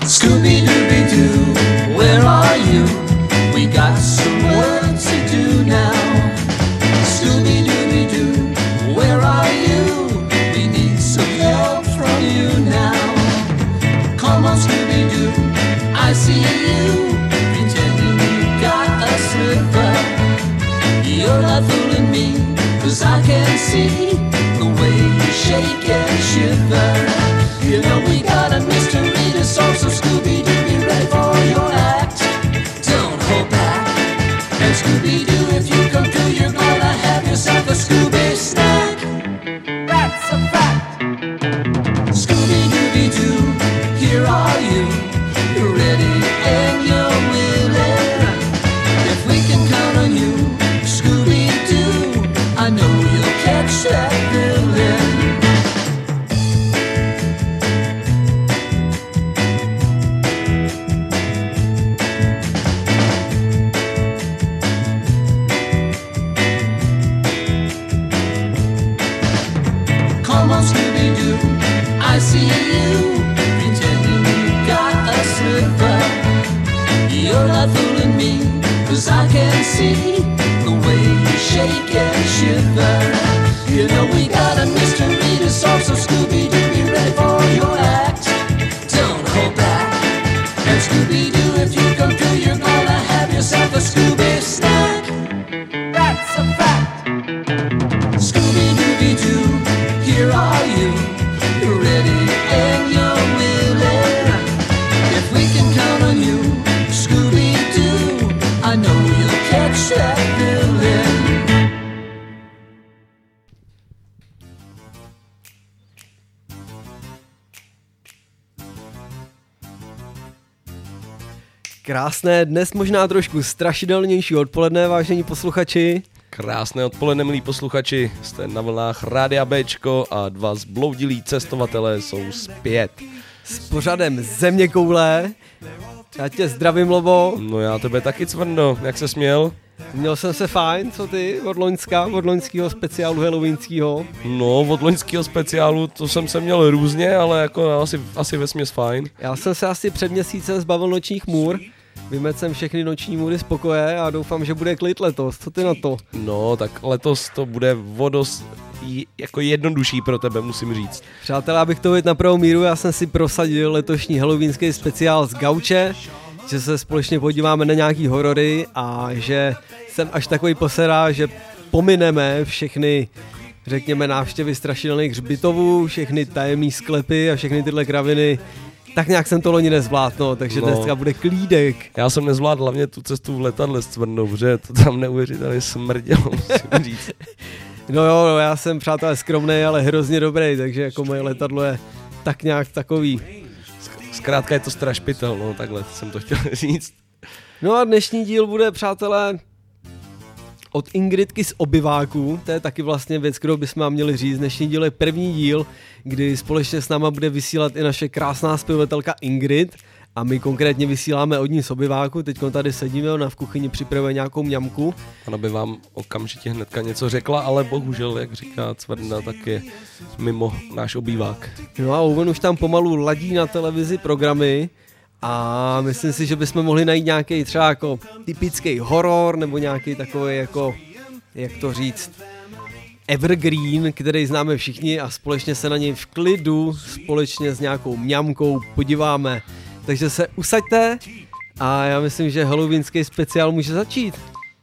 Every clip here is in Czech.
Scooby-Dooby-Doo, where are you? We got some work to do now. Scooby-Dooby-Doo, where are you? We need some help from you now. Come on, Scooby-Doo, I see you, pretending you got a slipper. You're not fooling me, 'cause I can see the way you shake and shiver. You know we got a mystery to solve, so Scooby-Doo, be ready for your act. Don't hold back. And Scooby-Doo, if you come through, you're gonna have yourself a Scooby snack. That's a fact. Scooby-Dooby-Doo, here are you. You're ready and you're willing. If we can count on you, Scooby-Doo, I know you'll catch that villain. Come on, Scooby-Doo, I see you, pretending you got a slipper. You're not fooling me, 'cause I can see the way you shake and shiver. You know we got a mystery to solve, so Scooby-Doo, be ready for your act. Don't hold back. And Scooby-Doo, if you come through, you're gonna have yourself a Scooby snack. That's a fact. Scooby-Dooby-Doo, here are you. You're ready and you're willing. If we can count on you, Scooby-Doo, I know you'll catch that villain. Krásné, dnes možná trošku strašidelnější odpoledne, vážení posluchači. Krásné odpoledne, milí posluchači, jste na vlnách Rádia Bčko a dva zbloudilí cestovatelé jsou zpět. S pořadem Zeměkoule. Já tě zdravím, Lobo. No já tebe taky, Cvrndo, jak ses měl? Měl jsem se fajn, co ty, od loňského speciálu halloweenského? No, od loňského speciálu to jsem se měl různě, ale jako asi vesměs fajn. Já jsem se asi před měsícem zbavil nočních můr. Vymetl jsem všechny noční můry z pokoje a doufám, že bude klid letos. Co ty na to? No, tak letos to bude vodost jako jednodušší pro tebe, musím říct. Přátelé, abych to věděl na pravou míru, já jsem si prosadil letošní halloweenský speciál z Gauče, že se společně podíváme na nějaký horory a že jsem až takový poserá, že pomineme všechny, řekněme, návštěvy strašidelných hřbitovů, všechny tajemný sklepy a všechny tyhle kraviny. Tak nějak jsem to loni nezvládl, no, takže dneska bude klídek. Já jsem nezvládl hlavně tu cestu v letadle s Cvrndou, protože to tam neuvěřitelně smrdělo, musím říct. No jo, já jsem, přátelé, skromnej, ale hrozně dobrý, takže jako moje letadlo je tak nějak takový. Zkrátka je to strašpitel, no takhle jsem to chtěl říct. No a dnešní díl bude, přátelé, od Ingridky z obyváků, to je taky vlastně věc, kterou bychom vám měli říct. Dnešní díl je první díl, kdy společně s náma bude vysílat i naše krásná zpěvatelka Ingrid a my konkrétně vysíláme od ní z obyváku, teď tady sedíme, ona v kuchyni připravuje nějakou mňamku. Ona by vám okamžitě hnedka něco řekla, ale bohužel, jak říká Cvrnda, tak je mimo náš obývák. No a on už tam pomalu ladí na televizi programy a myslím si, že bychom mohli najít nějaký třeba jako typický horor nebo nějaký takový jako, jak to říct, evergreen, který známe všichni a společně se na něj v klidu, společně s nějakou mňamkou podíváme. Takže se usaďte a já myslím, že halloweenský speciál může začít.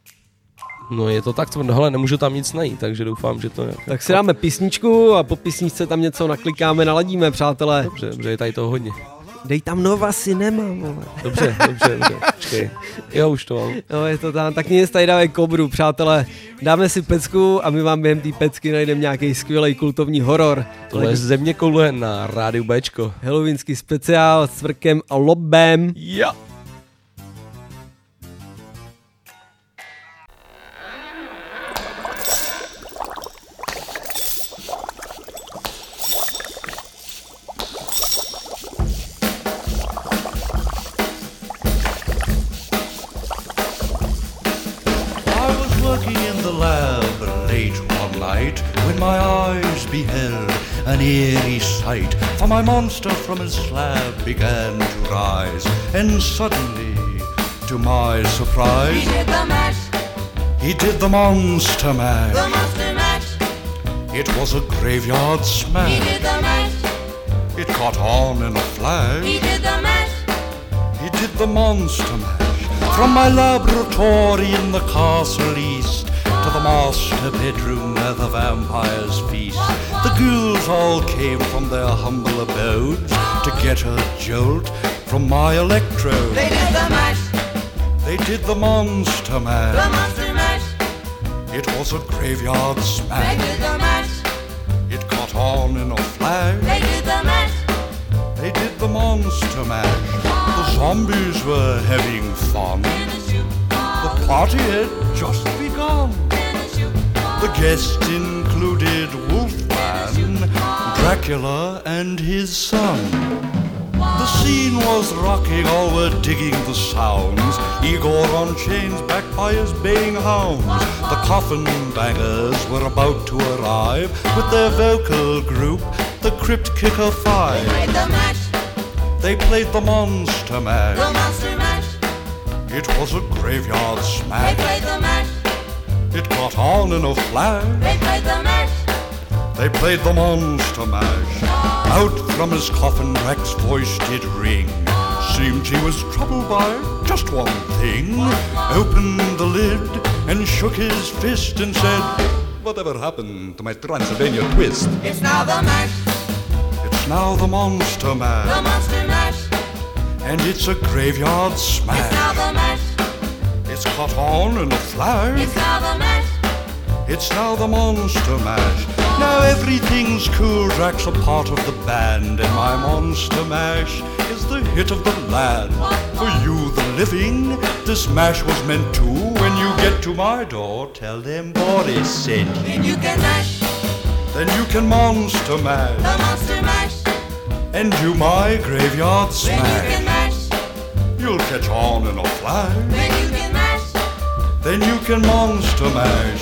No je to tak, hele, nemůžu tam nic najít, takže doufám, že to je. Tak si dáme písničku a po písničce tam něco naklikáme, naladíme, přátelé. Dobře, je tady toho hodně. Dej tam Nova Cinema, vole. Dobře, počkej. Jo, už to mám. No je to tam, tak nic, tady dáme Kobru, přátelé. Dáme si pecku a my vám během té pecky najdeme nějaký skvělý kultovní horor. Tohle je Zeměkoule na Rádiu Bčko. Halloweenský speciál s Cvrkem a Lobem. Jo. When my eyes beheld an eerie sight, for my monster from his slab began to prize. And suddenly, to my surprise, He did the mash, he did the monster mash. the monster mash. It was a graveyard He smash. did the mash, It caught on in a flash. he did the mash. He did the monster mash. From my laboratory in the castle east to the master bedroom where the vampires feast. The ghouls all came from their humble abodes to get a jolt from my electrode. They did the mash, They did the monster the mash. monster mash. It was a graveyard They smash. did the mash, It caught on in a flash. they did the mash. They did the monster mash. The zombies were having fun. The party had just begun. The guests included Wolfman, Dracula, and his son. The scene was rocking, all were digging the sounds. Igor on chains, backed by his baying hounds. The coffin bangers were about to arrive with their vocal group, the Crypt Kicker They Five. played the mash, They played the monster the mash. monster mash. It was a graveyard They smash. played the mash, It caught on in a flash. they played the mash. They played the monster mash. Out from his coffin, Rex's voice did ring. Seemed he was troubled by just one thing. Opened the lid and shook his fist and said, "Whatever happened to my Transylvania twist?" It's now the mash, It's now the monster the mash. monster mash. And it's a graveyard It's now smash. the mash, It's caught on in a flash. it's now the mash. It's now the monster mash. Now everything's cool. Drax a part of the band, and my monster mash is the hit of the land. For you, the living, this mash was meant to. When you get to my door, tell them Boris sent you. Then you can mash, Then you can monster mash the monster mash. and do my graveyard Then you can smash. mash, You'll catch on in a flash. then you can mash. Then you can monster mash.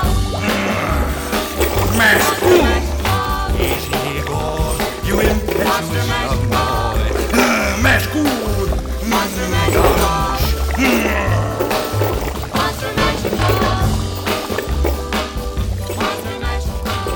Mash. Easy, Igor, you impetuous young boy. Mash good. Monster mash, monster mash. Monster mash.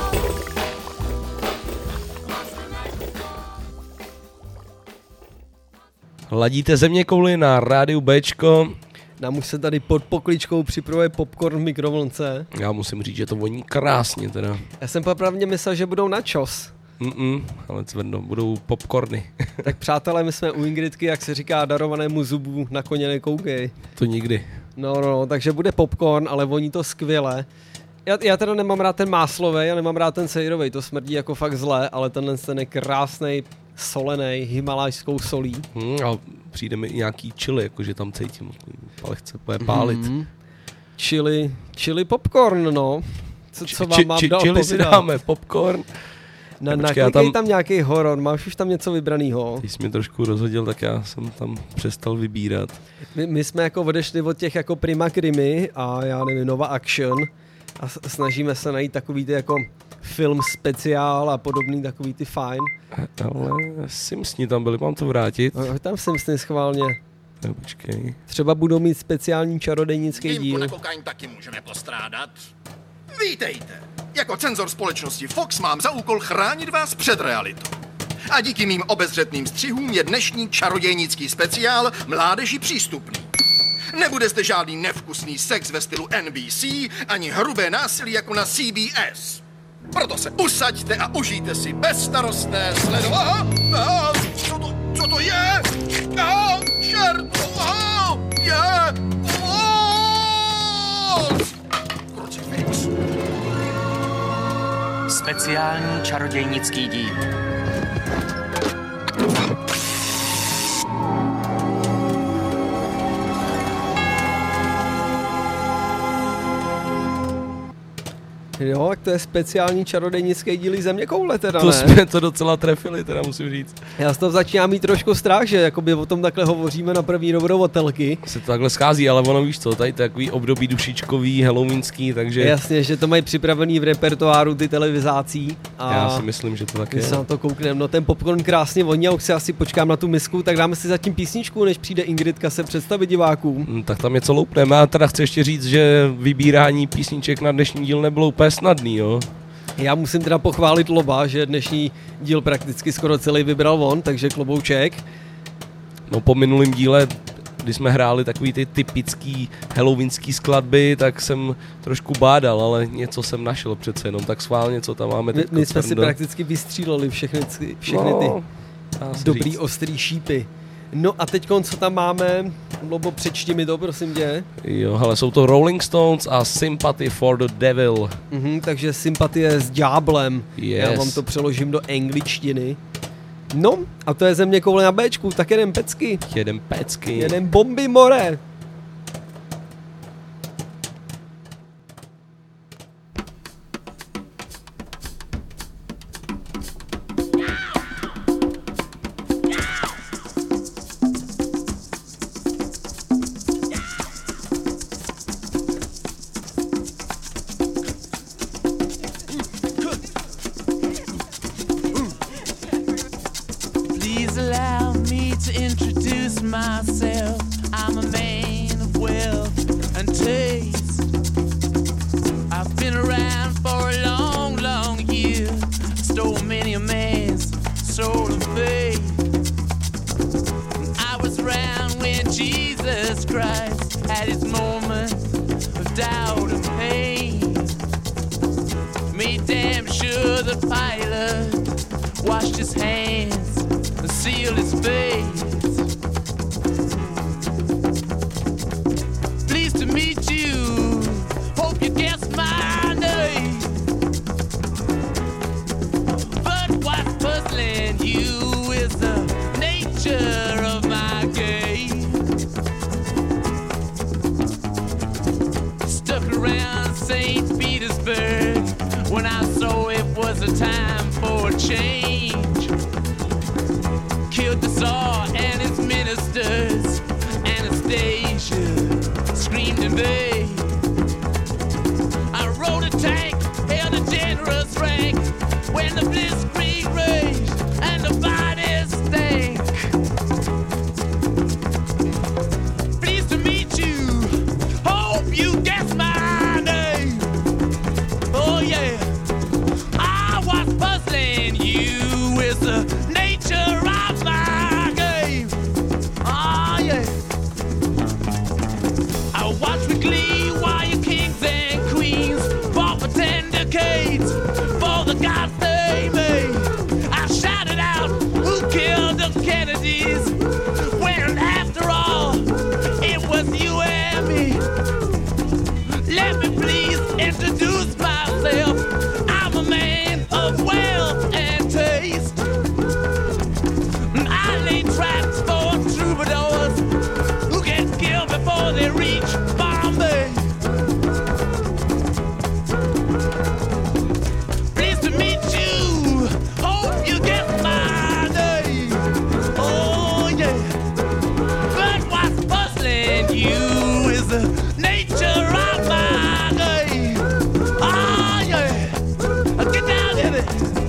Ladíte zeměkouli na rádiu Bčko. Nám už se tady pod pokličkou připravuje popcorn v mikrovlnce. Já musím říct, že to voní krásně teda. Já jsem popravdě myslel, že budou načos. Ale cvrno, budou popcorny. Tak přátelé, my jsme u Ingridky, jak se říká, darovanému zubu na koně nekoukej. To nikdy. No, takže bude popcorn, ale voní to skvěle. Já teda nemám rád ten máslovej, já nemám rád ten sejrovej, to smrdí jako fakt zle, ale tenhle ten je krásnej, solenej, himalajskou solí. A přijde mi i nějaký chili, jakože tam cítím. Lehce bude pálit. Chili popcorn, no. Co vám mám dál Chili si povídat? dáme, popcorn. Naklikej tam nějaký horor, máš už tam něco vybranýho. Ty jsi mě trošku rozhodil, tak já jsem tam přestal vybírat. My jsme jako odešli od těch jako Prima Krimi a já nevím, Nova Action a snažíme se najít takový ty jako film speciál a podobný takový ty fajn. Ale Simpsoni tam byli, mám to vrátit. A tam jsem s schválně. No, počkej. Třeba budou mít speciální čarodějnický Výjimku díl. na kokain taky můžeme postrádat. Vítejte. Jako cenzor společnosti Fox mám za úkol chránit vás před realitou. A díky mým obezřetným střihům je dnešní čarodějnický speciál mládeži přístupný. Nebude zde žádný nevkusný sex ve stylu NBC, ani hrubé násilí jako na CBS. Proto se usaďte a užijte si bezstarostné sledování. Co to je? Čert! Je! Krucifix. Speciální čarodějnický díl. Jo, tak to je speciální čarodějnické díly Zeměkoule teda, To ne? jsme to docela trefili, teda musím říct. Já z toho začínám mít trošku strach, že jakoby o tom takhle hovoříme na první dobrou od telky. Se to takhle schází, ale ono víš co, tady takový období dušičkový, halloweenský, takže Jasně, že to mají připravený v repertoáru ty televizácí. A já si myslím, že to tak my je. se na to koukneme. No ten popcorn krásně voní a už si asi počkám na tu misku, tak dáme si zatím písničku, než přijde Ingridka se představit divákům. Tak tam něco loupneme. Já teda chci ještě říct, že vybírání písniček na dnešní díl nebylo úplně snadný, jo. Já musím teda pochválit Loba, že dnešní díl prakticky skoro celý vybral on, takže klobouček. No po minulém díle, když jsme hráli takový ty typický halloweenský skladby, tak jsem trošku bádal, ale něco jsem našel přece jenom, tak schválně, co tam máme teď. My jsme si prakticky vystříleli všechny ty dobrý ostrý šípy. No a teď co tam máme? Lobo, přečti mi to, prosím tě. Jo, hele, jsou to Rolling Stones a Sympathy for the Devil. Takže sympatie s ďáblem. Yes. Já vám to přeložím do angličtiny. No, a to je Zeměkoule na Bčku, tak jeden pecky. Jeden pecky. Jeden bomby more. Please allow me to introduce myself. I'm a man of wealth and taste. I've been around for a long, long year. Stole many a man's soul of faith. I was around when Jesus Christ had his moment of doubt and pain. Made damn sure that Pilate washed his hands and sealed his face. Pleased to meet you, hope you guessed my name. But what's puzzling you is the nature of my game. Stuck around St. Petersburg when I saw it was a time for a change. Killed the Tsar and his ministers. Anastasia screamed in vain. I rode a tank, held a generous rank when the blitzkrieg raged and the bodies stank. Pleased to meet you, hope you guessed my name. Oh yeah, I was puzzling you with the nature of my game. Oh yeah, I watched with glee while your kings and queens fought for 10 decades for the gods they made. I shouted out, who killed the Kennedys? When after all, it was you and me. Let me please introduce myself. I'm a man of wealth and taste. I lay traps for troubadours who get killed before they reach Bombay. Pleased to meet you, hope you get my name. Oh yeah, but what's puzzling you is the nature of my game. Oh yeah, get down in it.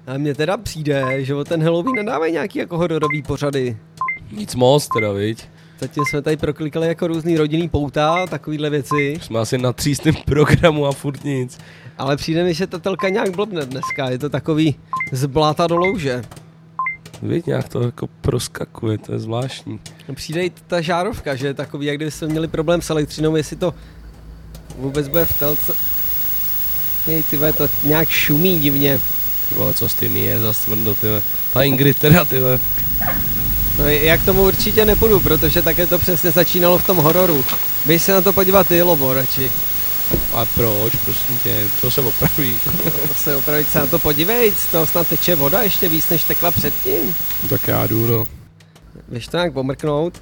A mně teda přijde, že o ten Halloween nedávají nějaký jako hororový pořady. Nic moc teda, viď? Zatím jsme tady proklikali jako různý rodinný pouta, takovýhle věci. Jsme asi na třístém programu a furt nic. Ale přijde mi, že ta telka nějak blbne dneska, je to takový z bláta do louže. Víš, nějak to jako proskakuje, to je zvláštní. Přijde i ta žárovka, že je takový, jak kdybyste měli problém s elektřinou, jestli to vůbec bude v telce. Jej, tyhle, to nějak šumí divně. Ty vole, co s tím je za stvrdo, ty vole. Ta Ingrid teda, ty vole. No já k tomu určitě nepůjdu, protože také to přesně začínalo v tom hororu. Běž se na to podívat ty, Lobo, radši. A proč, prosím tě, to se opraví. To se opravit se na to podívej, z toho snad teče voda ještě víc, než tekla předtím. Tak já jdu, no. Běž to nějak pomrknout.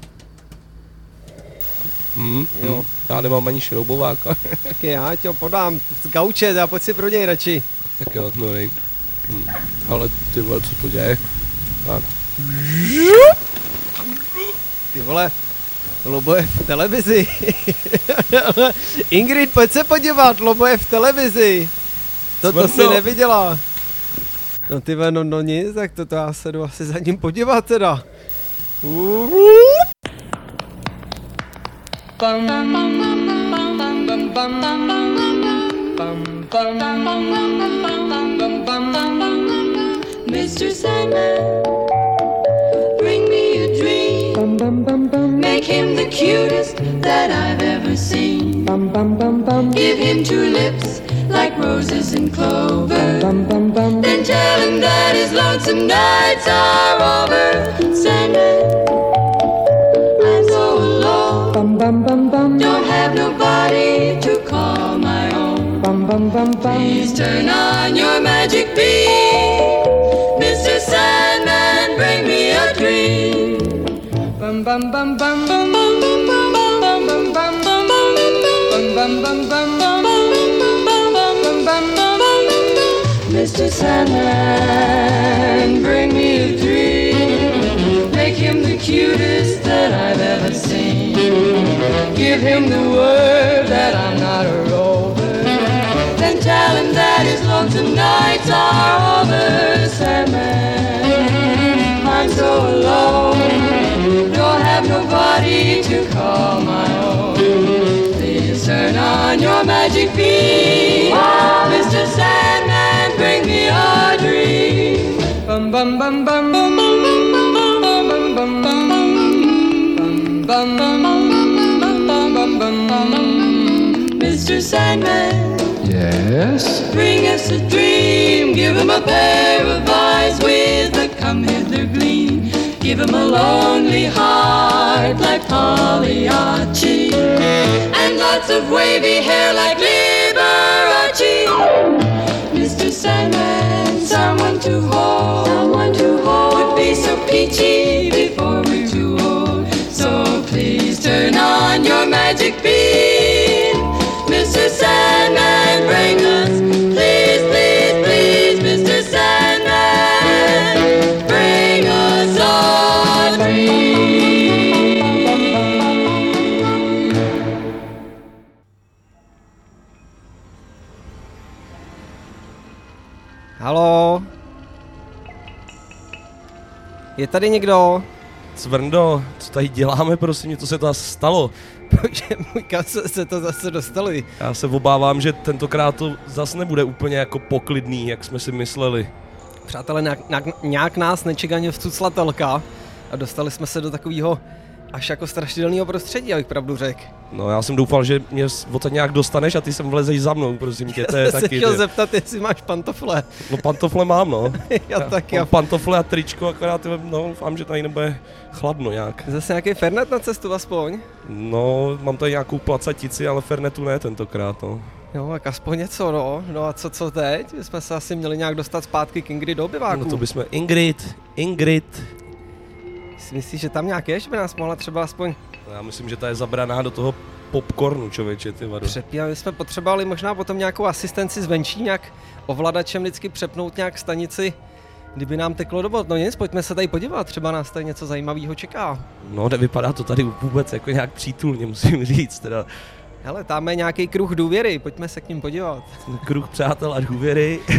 Jo. Já nemám ani šroubováka. Tak já ti ho podám z gauče, a pojď si pro něj radši. Tak jo, no nej. Ale ty vole, co to děje? Tak. Ty vole, Lobo je v televizi. Ingrid, pojď se podívat, Lobo je v televizi. To si neviděla. No ty vole, no nic, tak to já se jdu asi za ním podívat teda. Mr. Sandman, bring me a dream. Make him the cutest that I've ever seen. Give him 2 lips like roses and clover. Then tell him that his lonesome nights are over. Sandman, I'm so alone. Don't have nobody to call my own. Please turn on your magic beam. Mr. Sandman, bring me a dream. Bum bum bum bum bum bum bum bum bum bum bum bum bum bum bum. Mr. Sandman, bring me a dream. Make him the cutest that I've ever seen. Give him the word that I'm not a rover. Then tell him that his lonesome nights are over. Sandman, I'm so alone. Don't have nobody to call my own. Please turn on your magic beam. Mr. Sandman, bring me a dream. Bum bum bum bum bum bum bum bum bum bum bum bum bum. Mr. Sandman, yes? Bring us a dream. Give him a pair of eyes with a come hither gleam. Give him a lonely heart like Pagliacci, and lots of wavy hair like Liberace. Mr. Sandman, someone to hold, would be so peachy before we're too old. So please turn on your magic beam. Mr. Sandman, bring us, please, please, please, Mr. Sandman, bring us a dream. Haló? Je tady někdo? Cvrndo, co tady děláme, prosím, co se to stalo? Bože můj, kam se to zase dostali? Já se obávám, že tentokrát to zase nebude úplně jako poklidný, jak jsme si mysleli. Přátelé, nějak nás nečekaně vcucla telka a dostali jsme se do takového až jako strašidelného prostředí, abych pravdu řekl. No já jsem doufal, že mě odsaď nějak dostaneš a ty sem vlezeš za mnou, prosím tě, to je Já taky... se chtěl zeptat, jestli máš pantofle. No pantofle mám, no. Já taky. Mám pantofle a tričko, akorát no, doufám, že tady nebude chladno nějak. Zase nějaký fernet na cestu aspoň? No, mám tady nějakou placatici, ale fernetu ne tentokrát, no. Jo, tak aspoň něco, no. No a co teď? My jsme se asi měli nějak dostat zpátky k Ingrid do obyváku. No to bychom... Ingrid. Myslíš, že tam nějak je, že by nás mohla třeba aspoň... Já myslím, že ta je zabraná do toho popcornu, člověče, ty vado. My jsme potřebovali možná potom nějakou asistenci zvenčí, nějak ovladačem vždycky přepnout nějak stanici, kdyby nám teklo do bod. No nic, pojďme se tady podívat, třeba nás tady něco zajímavého čeká. No, nevypadá to tady vůbec jako nějak přítulně, musím říct, teda. Hele, tam je nějaký kruh důvěry, pojďme se k ním podívat. Kruh přátel a důvěry.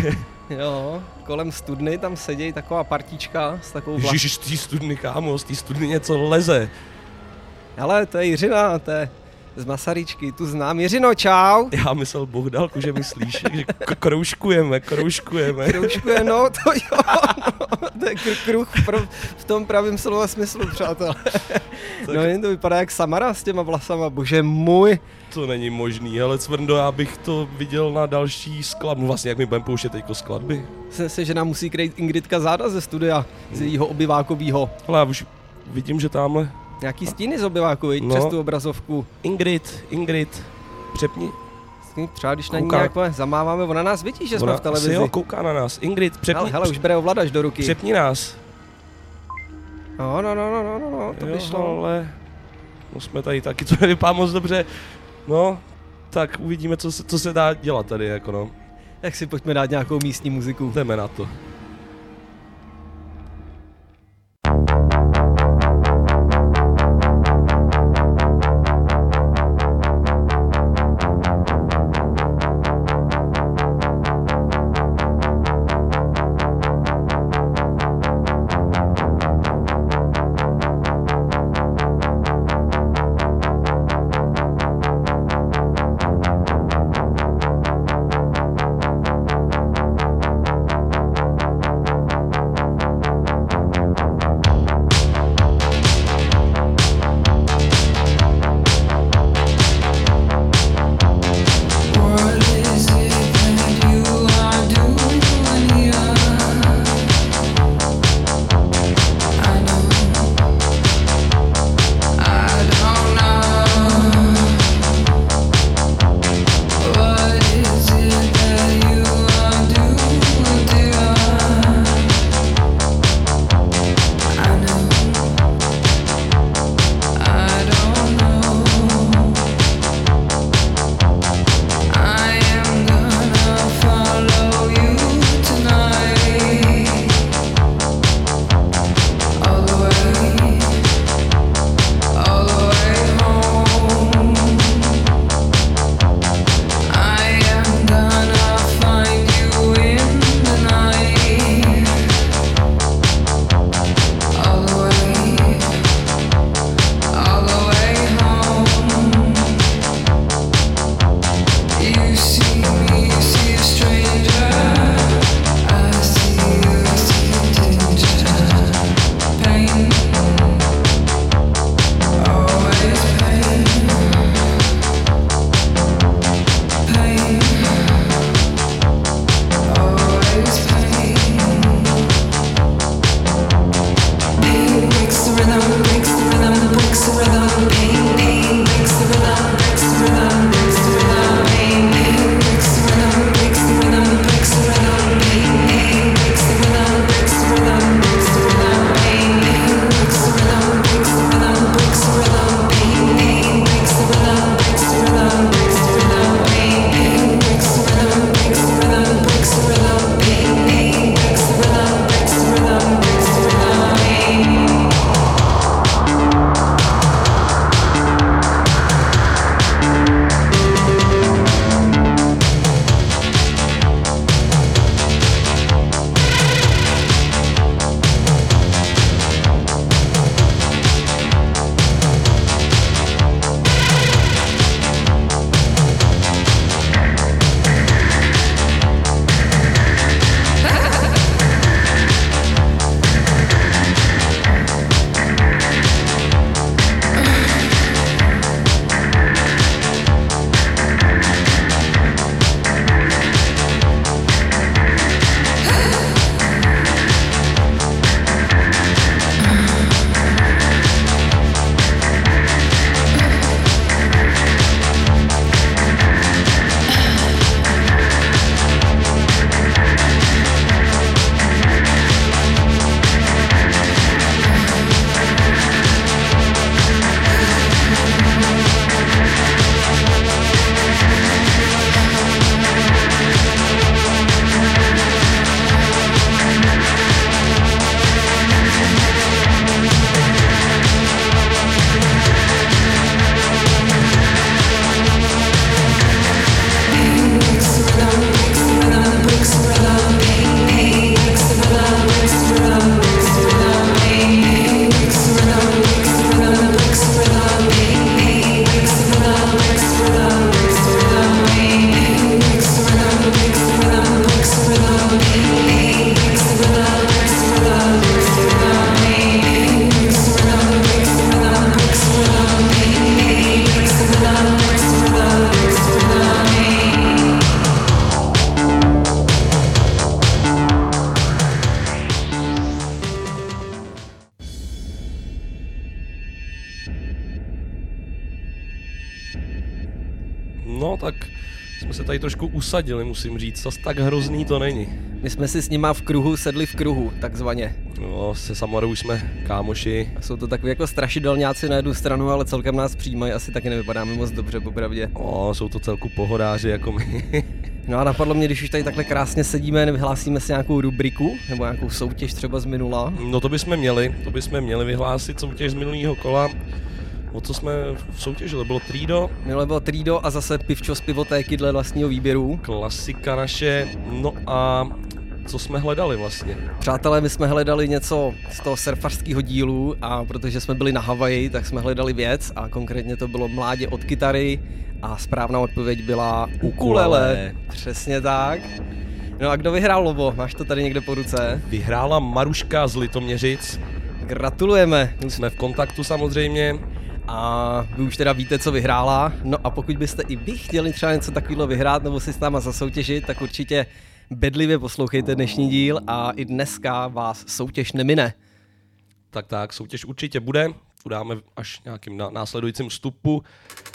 Jo, kolem studny tam sedějí taková partička s takovou Ježiš, z té studny, kámo, z té studny něco leze. Ale to je Jiřina, to je z Masaryčky, tu znám. Jiřino, čau. Já myslel, Bohdálku, že myslíš, že kroužkujeme. Kroužkuje, no, to jo, no, to je kruh v tom pravém slova smyslu, přátelé. No jen to vypadá jak Samara s těma vlasama, bože můj. To není možný, ale Cvrndo, já bych to viděl na další skladbu. Vlastně, jak mi budeme pouštět teďko skladby. Myslím si, že nám musí krejt Ingridka záda ze studia, z jejího obyvákovýho. Ale já už vidím, že tamhle... Nějaký stíny z obyváku, viď, přes tu obrazovku. Ingrid, přepni. Třeba když na ní nějak zamáváme, ona nás vidí, že jsme v televizi. Jo, kouká na nás. Ingrid, přepni. Hele, už bere ovladač do ruky. Přepni nás. No, to by šlo. Ale no jsme tady taky, to nevypadá moc dobře. No, tak uvidíme, co se dá dělat tady, jako no. Tak si pojďme dát nějakou místní muziku. Jdeme na to. No tak jsme se tady trošku usadili, musím říct, zas tak hrozný to není. My jsme si s nima v kruhu sedli v kruhu, takzvaně. No, se Samarou už jsme kámoši. Jsou to takový jako strašidelňáci na jednu stranu, ale celkem nás přijímají, asi taky nevypadáme moc dobře, popravdě. No, jsou to celku pohodáři jako my. No a napadlo mě, když už tady takhle krásně sedíme, nevyhlásíme si nějakou rubriku, nebo nějakou soutěž třeba z minula. No to bychom měli vyhlásit soutěž z minulého kola. O co jsme soutěžili? Bylo Trido? Minule bylo Trido a zase pivčo z pivotéky dle vlastního výběru. Klasika naše, no a co jsme hledali vlastně? Přátelé, my jsme hledali něco z toho surfařského dílu a protože jsme byli na Havaji, tak jsme hledali věc a konkrétně to bylo mládě od kytary a správná odpověď byla ukulele. Přesně tak. No a kdo vyhrál, Lobo? Máš to tady někde po ruce? Vyhrála Maruška z Litoměřic. Gratulujeme. Jsme v kontaktu samozřejmě. A vy už teda víte, co vyhrála. No a pokud byste i vy chtěli třeba něco takového vyhrát nebo si s náma zasoutěžit, tak určitě bedlivě poslouchejte dnešní díl a i dneska vás soutěž nemine. Tak, soutěž určitě bude. Udáme až nějakým následujícím vstupu.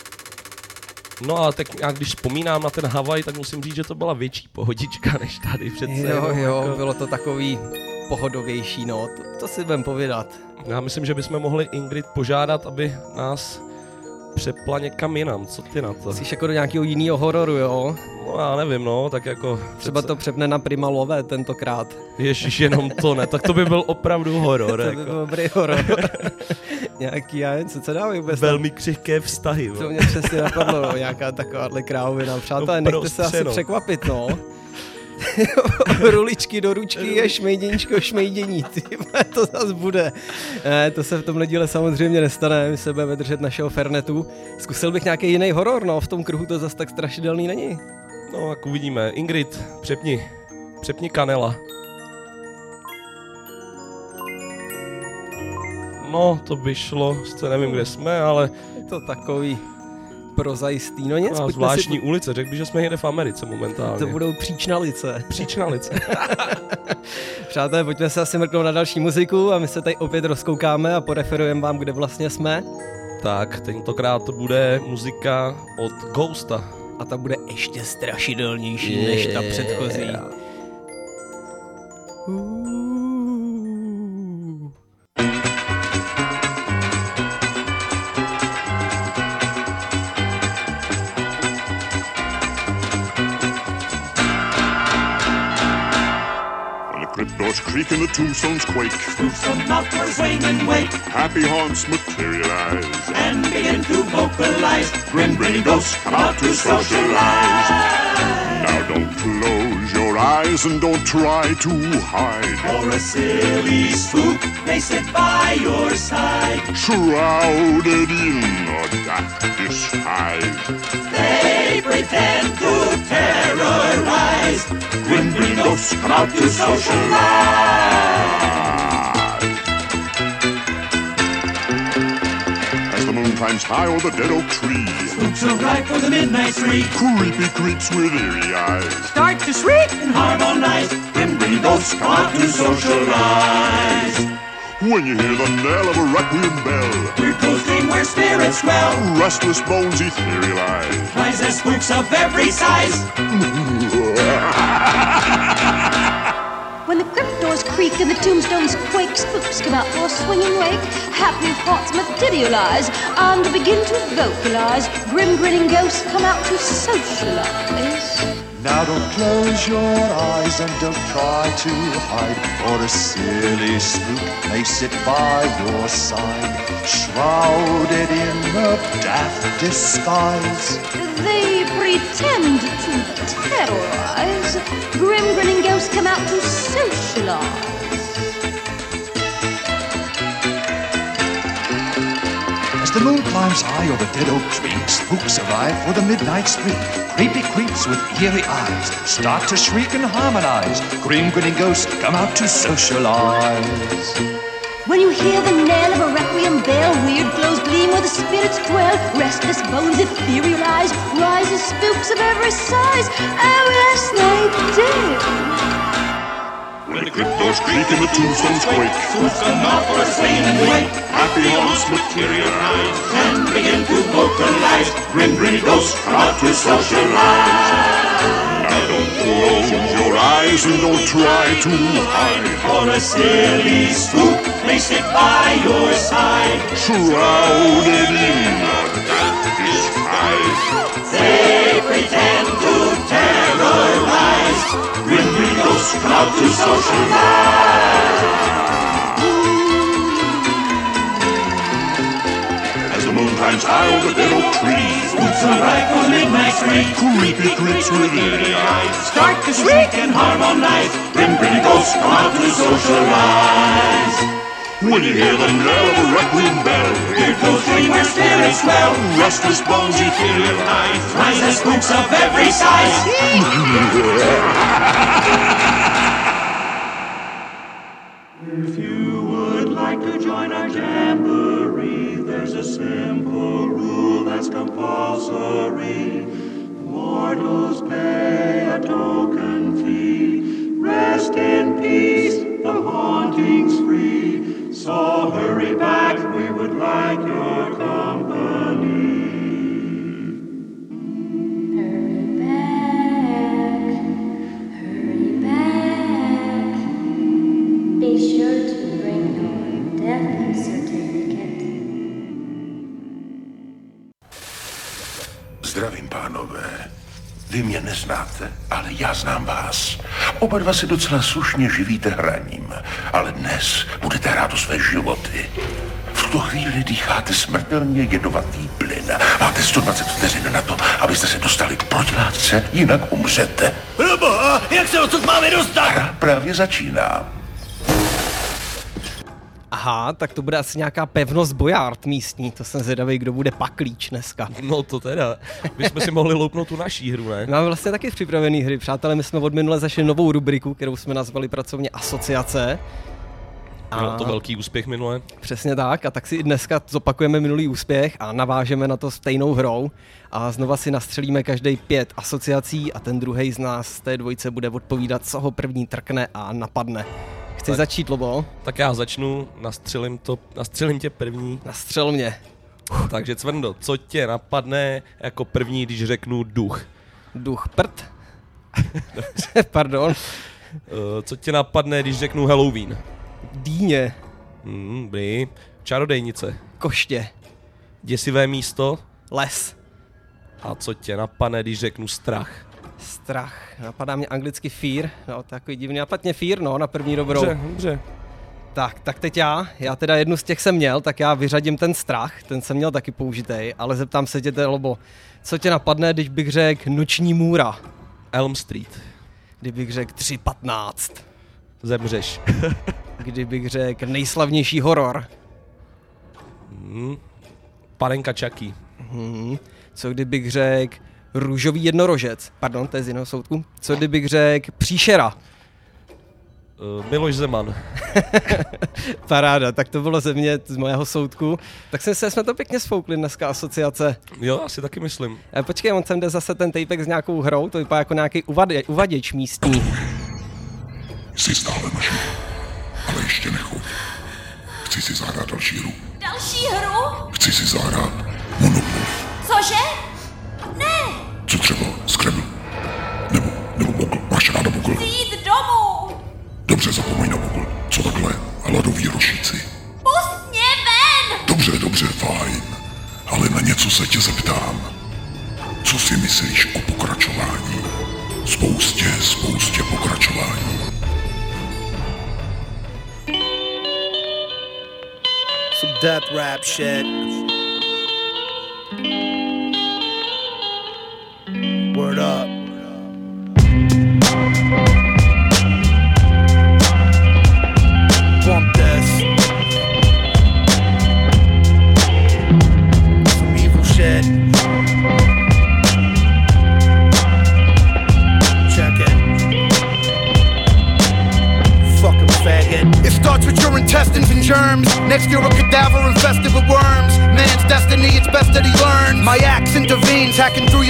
No a tak nějak, když vzpomínám na ten Havaj, tak musím říct, že to byla větší pohodička než tady přece. Jo, jako... bylo to takový pohodovější, no, to si budem povědat. Já myslím, že bychom mohli Ingrid požádat, aby nás přepla někam jinam, co ty na to? Jsi jako do nějakého jiného hororu, jo? No já nevím, no, tak jako... Třeba to přepne na Prima Love tentokrát. Ježiš, jenom to ne, tak to by byl opravdu horor. To by byl dobrý horor. Nějaký, já jen, co dávají vůbec? Velmi křehké vztahy. To mě přesně napadlo, no, nějaká takováhle krávovina. Přátelé, nechte se asi překvapit, no. Ruličky do ručky je šmejděníčko šmejdění, to zase bude. Ne, to se v tomhle díle samozřejmě nestane, my se budeme držet našeho fernetu. Zkusil bych nějaký jiný horor, no, v tom kruhu to zase tak strašidelný není. No, jak uvidíme. Ingrid, přepni kanela. No, to by šlo, sice nevím, kde jsme, ale... Je to takový prozajistý, no nic. A zvláštní ulice, řekl bych, že jsme někde v Americe momentálně. To budou Příčnalice. Příčnalice. Přátelé, pojďme se asi mrknout na další muziku a my se tady opět rozkoukáme a poreferujeme vám, kde vlastně jsme. Tak, tentokrát to bude muzika od Ghosta. A ta bude ještě strašidelnější než ta předchozí. Cryptdoors creak and the tombstones quake. Spooks come out for a swing and wake. Happy haunts materialize and begin to vocalize. Grim grinning ghosts come out to socialize. Now don't close your eyes and don't try to hide. Or a silly spook may sit by your side. Shrouded in a daft disguise, they pretend to terrorize. Grim grinning ghosts come out to socialize. As the moon climbs high o'er the dead oak tree, spooks arrive for the midnight spree. Creepy creeps with eerie eyes start to shriek and harmonize. Grim grinning ghosts come out to socialize. When you hear the knell of a requiem bell, weird ghosts dream where spirits dwell. Restless bones etherealize. Rise as spooks of every size. When the crypt doors creak and the tombstones quake, spooks come out for a swinging wake. Happy thoughts materialize and begin to vocalize. Grim grinning ghosts come out to socialize. Now don't close your eyes and don't try to hide, or a silly spook may sit by your side, shrouded in a daft disguise. They pretend to terrorize. Grim grinning ghosts come out to socialize. As the moon climbs high over dead oak tree, spooks arrive for the midnight spree. Creepy creeps with eerie eyes start to shriek and harmonize. Grim grinning ghosts come out to socialize. When you hear the knell of a requiem bell, weird glows gleam where the spirits dwell. Restless bones etherealize, rises spooks of every size. Oh yes, they do. When the crypt doors creak and the tombstones quake, spooks come out for a swing and wake. Happy happy hearts materialize and begin to vocalize. Grim Grinny Ghosts come out to socialize. Now don't close your eyes and don't try to hide, For a silly spook may sit by your side, shrouded in a dark disguise. They pretend to terrorize. Grim Grinny Ghosts come out to socialize. As the moon climbs high over dead oak trees, Spooks arrive for midnight spree. creepy creeps with eerie eyes Start to shriek and harmonize. Grim Grinny Ghosts come out to socialize. when you hear the knell of a requiem bell. Here goes dream where spirits dwell. Restless bones, ethereal eyes. Rise as spooks of every size. If you would like to join our jamboree, there's a simple rule that's compulsory. Mortals pay a token fee. Rest in peace, the haunting's free. So hurry back, we would like your company. Hurry back. Be sure to bring your death certificate. Zdravím, pánové. Vy mě neznáte, ale já znám vás. Oba dva se docela slušně živíte hraním, ale dnes budete hrát o své životy. V tuto chvíli dýcháte smrtelně jedovatý plyn. Máte 120 vteřin na to, abyste se dostali k protilátce, jinak umřete. Proboha, jak se odsud máme dostat? Hra právě začíná. Aha, tak to bude asi nějaká pevnost Bojard místní, to jsem zvědavý, kdo bude paklíč dneska. No to teda, bychom si mohli loupnout tu naší hru, ne? Máme vlastně taky připravený hry, přátelé, my jsme od minule zašli novou rubriku, kterou jsme nazvali pracovně Asociace. Byl to velký úspěch minule. Přesně tak, a tak si i dneska zopakujeme minulý úspěch a navážeme na to stejnou hrou a znova si nastřelíme každý 5 asociací a ten druhej z nás z té dvojice bude odpovídat, co ho první trkne a napadne. Chci začít, Lobo? Tak já začnu, nastřelím tě první. Nastřel mě. Takže Cvrndo, co tě napadne jako první, když řeknu duch? Duch prd? Pardon. Co tě napadne, když řeknu Halloween? Dýně. Dobrý. Čarodejnice. Koště. Děsivé místo? Les. A co tě napadne, když řeknu strach? Strach. Napadá mě anglicky fear. No, takový divný. Napadně fear, no, na první dobrou. Dobře. Tak teď já teda jednu z těch jsem měl, tak já vyřadím ten strach, ten jsem měl taky použitej, ale zeptám se tě, Lobo, co tě napadne, když bych řekl Noční můra? Elm Street. Kdybych řekl 3:15. Zemřeš. Kdybych řekl nejslavnější horor? Panenka Chucky. Co kdybych řekl Růžový jednorožec? Pardon, to je z jiného soudku. Co kdybych řekl Příšera? Miloš Zeman. Paráda, tak to bylo ze mě, z mého soudku. Tak jsme to pěkně sfoukli dneska, asociace. Jo, asi taky myslím. Počkej, on sem jde zase ten tapek s nějakou hrou, to vypadá jako nějaký uvaděč místní. Jsi stále naši, ale ještě nechoď. Chci si zahrát další hru. Další hru? Chci si zahrát Monopoly. Cože? Ne! Co třeba? Scrabble? Nebo Bukl? Máš ráda Bukl? Chci jít domů! Dobře, zapomeň na Bukl. Co takhle? Hladoví rošíci. Pust mě ven! Dobře, fajn. Ale na něco se tě zeptám. Co si myslíš o pokračování? Spoustě pokračování. Some death rap shit. Word up. Bump this. Some evil shit. Check it. Fucking faggot. It starts with your intestines and germs. Next you're a cadaver infested with worms. Man's destiny, it's best that he learns. My axe intervenes, hacking through your veins.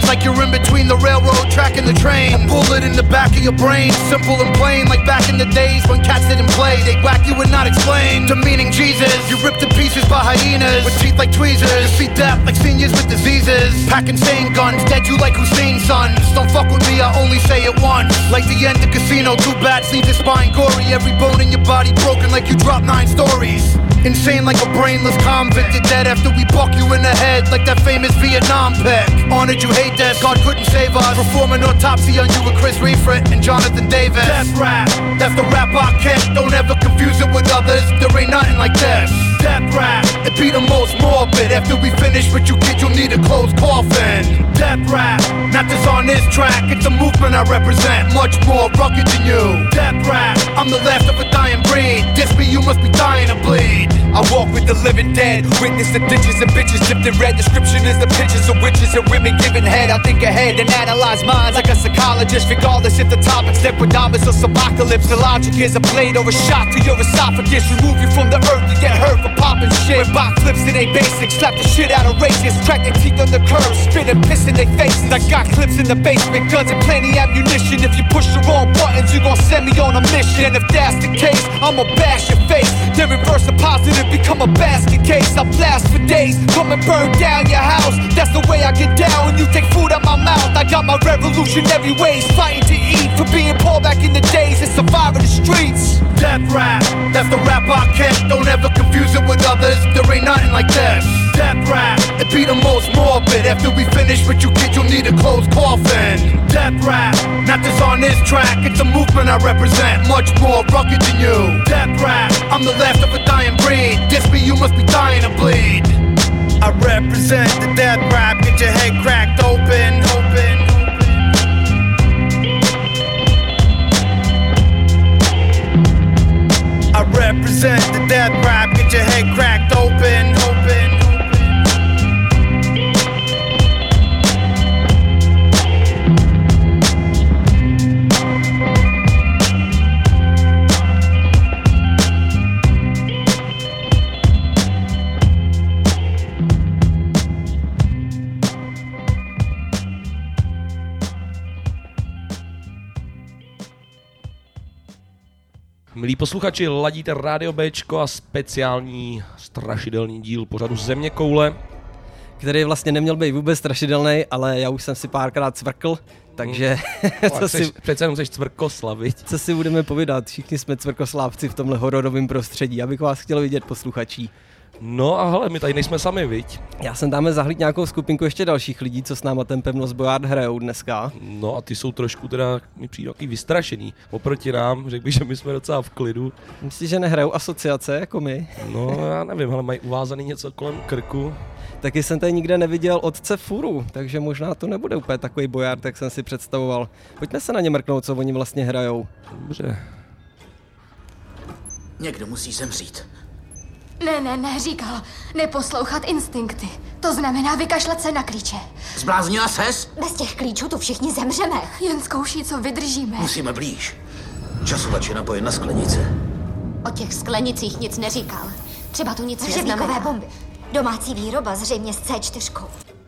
like you're in between the railroad track and the train. A bullet in the back of your brain, simple and plain, like back in the days when cats didn't play. They'd whack you and not explain. Demeaning Jesus, you ripped to pieces by hyenas with teeth like tweezers. You see death like seniors with diseases. Pack insane guns, dead you like Hussein's sons. Don't fuck with me, I only say it once. Like the end of Casino, two bats leave your spine gory. Every bone in your body broken like you dropped 9 stories. Insane like a brainless convict. You're dead after we buck you in the head like that famous Vietnam pick. Honored you hate death, God couldn't save us. Perform an autopsy on you with Chris Reifert and Jonathan Davis. Death rap, that's the rap I kick. Don't ever confuse it with others, there ain't nothing like this. Death rap, it be the most morbid. After we finish with you kids, you'll need a closed coffin. Death rap, not just on this track, it's a movement I represent, much more rugged than you. Death rap, I'm the last of a dying breed. Diss me, you must be dying to bleed. I walk with the living dead, witness the ditches and bitches dipped in red. Description is the pictures of witches and women giving head. I think ahead and analyze minds like a psychologist, regardless if the topic's Nepodamus or Subocalypse. The logic is a blade or a shot to your esophagus. Remove you from the earth, you get hurt for popping shit. With backflips it ain't basic, slap the shit out of racists. Crack their teeth on the curb, spit and piss in their faces. I got clips in the basement, guns and plenty ammunition. If you push the wrong buttons, you gon' send me on a mission. And if that's the case, I'ma bash your face. Then reverse the positive, become a basket case. I blast for days, come and burn down your house. That's the way I get down when you take food out my mouth. I got my revolutionary ways, fighting to eat. For being poor back in the days and surviving the streets. Death rap, that's the rap I kick. Don't ever confuse it with others, there ain't nothing like this. Death rap, it be the most morbid. After we finish with you kids, you'll need a closed coffin. Death rap, not just on this track, it's a movement I represent, much more rugged than you. Death rap, I'm the last of a dying breed. Diss me, you must be dying to bleed. I represent the death rap, get your head cracked open. I represent the death rap, get your head cracked open. Milí posluchači, ladíte Rádio Bčko a speciální strašidelný díl pořadu Zeměkoule, který vlastně neměl být vůbec strašidelný, ale já už jsem si párkrát cvrkl, takže přece jenom chceš cvrkoslavit. Co si budeme povídat, všichni jsme cvrkoslávci v tomhle hororovém prostředí, já bych vás chtěl vidět, posluchačí. No a hele, my tady nejsme sami, viď? Já jsem tam zahlídl nějakou skupinku ještě dalších lidí, co s náma ten Pevnost Bojard hrajou dneska. No a ty jsou trošku teda, mi přijde takový vystrašený. Oproti nám, řekl bych, že my jsme docela v klidu. Myslíš, že nehrajou asociace jako my? No já nevím, ale mají uvázaný něco kolem krku. Taky jsem tady nikde neviděl otce Furu, takže možná to nebude úplně takový Bojard, jak jsem si představoval. Pojďme se na ně mrknout, co oni vlastně hrajou. Dobře. Někdo musí zemřít. Ne, říkal, neposlouchat instinkty. To znamená vykašlat se na klíče. Zbláznila ses? Bez těch klíčů tu všichni zemřeme. Jen zkouší, co vydržíme. Musíme blíž. Časovač je napojen na sklenice. O těch sklenicích nic neříkal. Třeba tu nic neznamená. Bomby. Domácí výroba zřejmě s C4.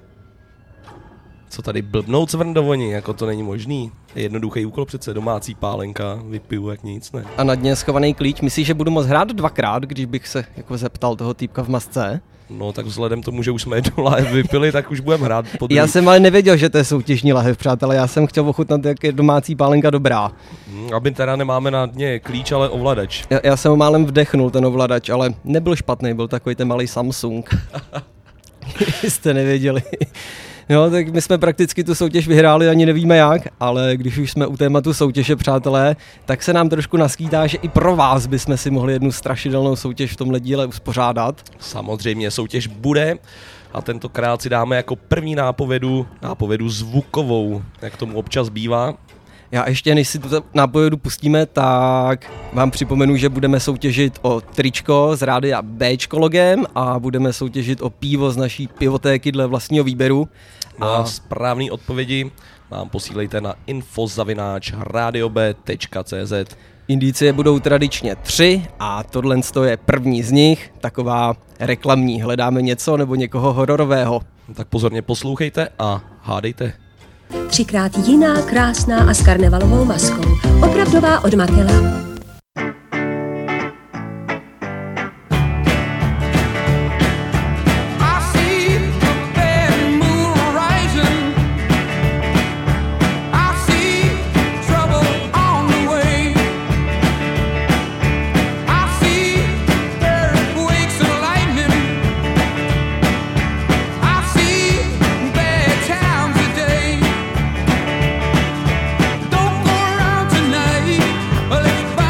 Co tady blbnou cvrndovoni, jako to není možný. Je jednoduchý úkol přece, domácí pálenka, vypiju jak nic, ne? A na dně schovaný klíč, myslíš, že budu moct hrát dvakrát, když bych se jako zeptal toho týpka v masce? No tak vzhledem tomu, že už jsme jednu lahev vypili, tak už budeme hrát po druhý. Já jsem ale nevěděl, že to je soutěžní lahev, přátelé, já jsem chtěl ochutnat, jak je domácí pálenka dobrá. Aby teda nemáme na dně klíč, ale ovladač. Já jsem ho málem vdechnul, ten ovladač, ale nebyl špatný, byl takový ten malý Samsung. Jste nevěděli. No, tak my jsme prakticky tu soutěž vyhráli, ani nevíme jak, ale když už jsme u tématu soutěže, přátelé, tak se nám trošku naskýtá, že i pro vás bychom si mohli jednu strašidelnou soutěž v tomhle díle uspořádat. Samozřejmě soutěž bude a tentokrát si dáme jako první nápovědu zvukovou, jak tomu občas bývá. Já ještě, než si tu nápovědu pustíme, tak vám připomenu, že budeme soutěžit o tričko z rádia Bčko logem a budeme soutěžit o pivo z naší pivotéky dle vlastního výběru. A správný odpovědi nám posílejte na info@radiob.cz. Indicie budou tradičně 3 a tohle je první z nich, taková reklamní. Hledáme něco nebo někoho hororového. Tak pozorně poslouchejte a hádejte. 3krát jiná, krásná a s karnevalovou maskou. Opravdová od Matela. Let's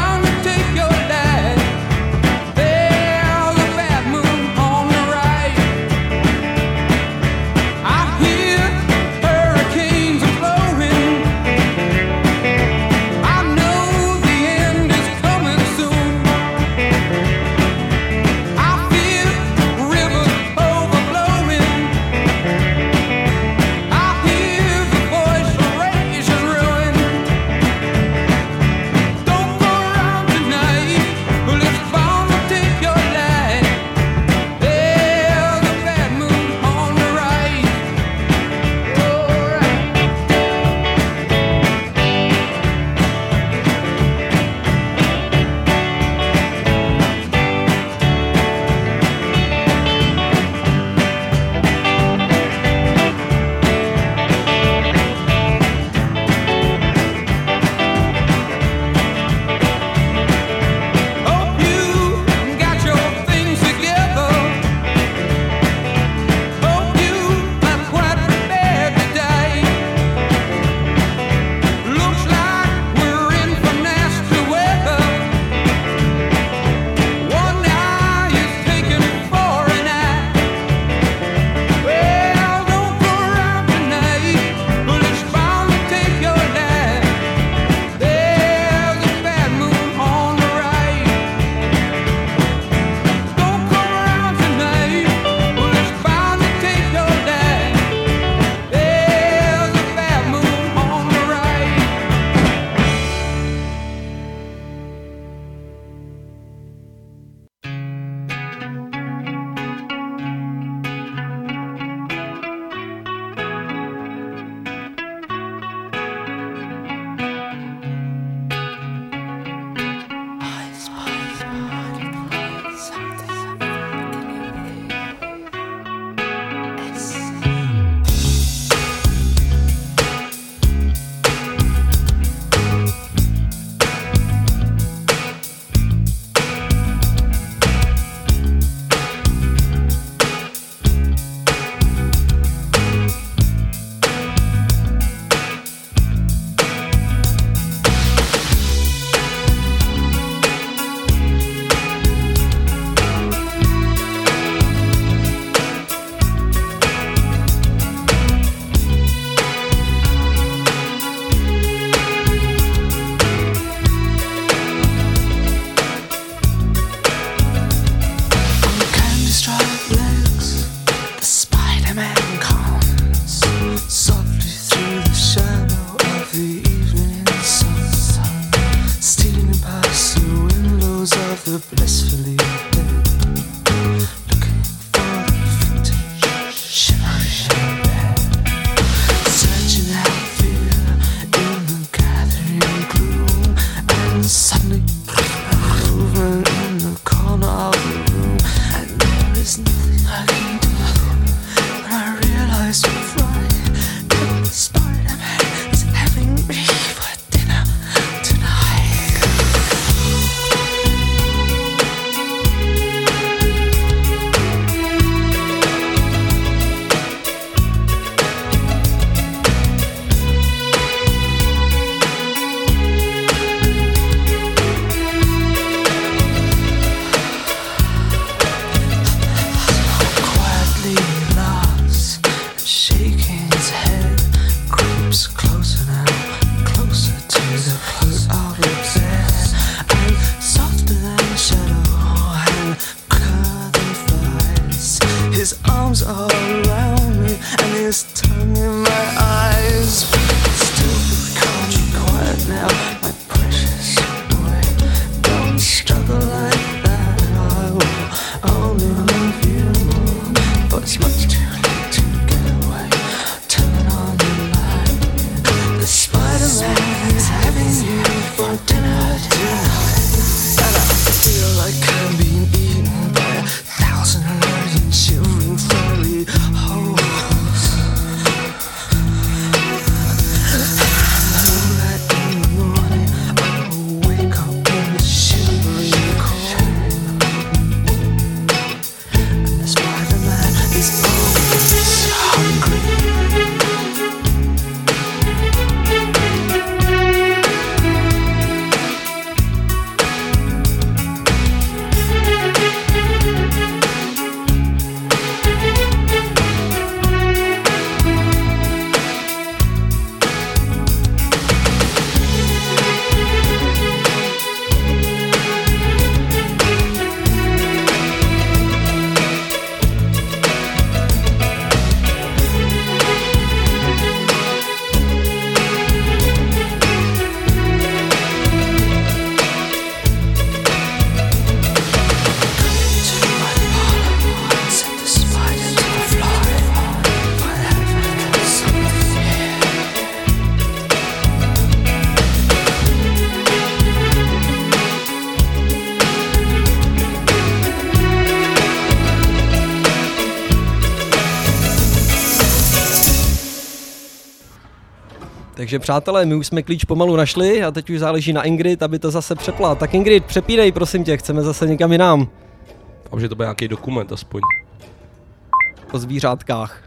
Takže přátelé, my už jsme klíč pomalu našli a teď už záleží na Ingrid, aby to zase přepla. Tak Ingrid, přepínej, prosím tě, chceme zase někam jinam. A že to bude nějaký dokument aspoň. O zvířátkách.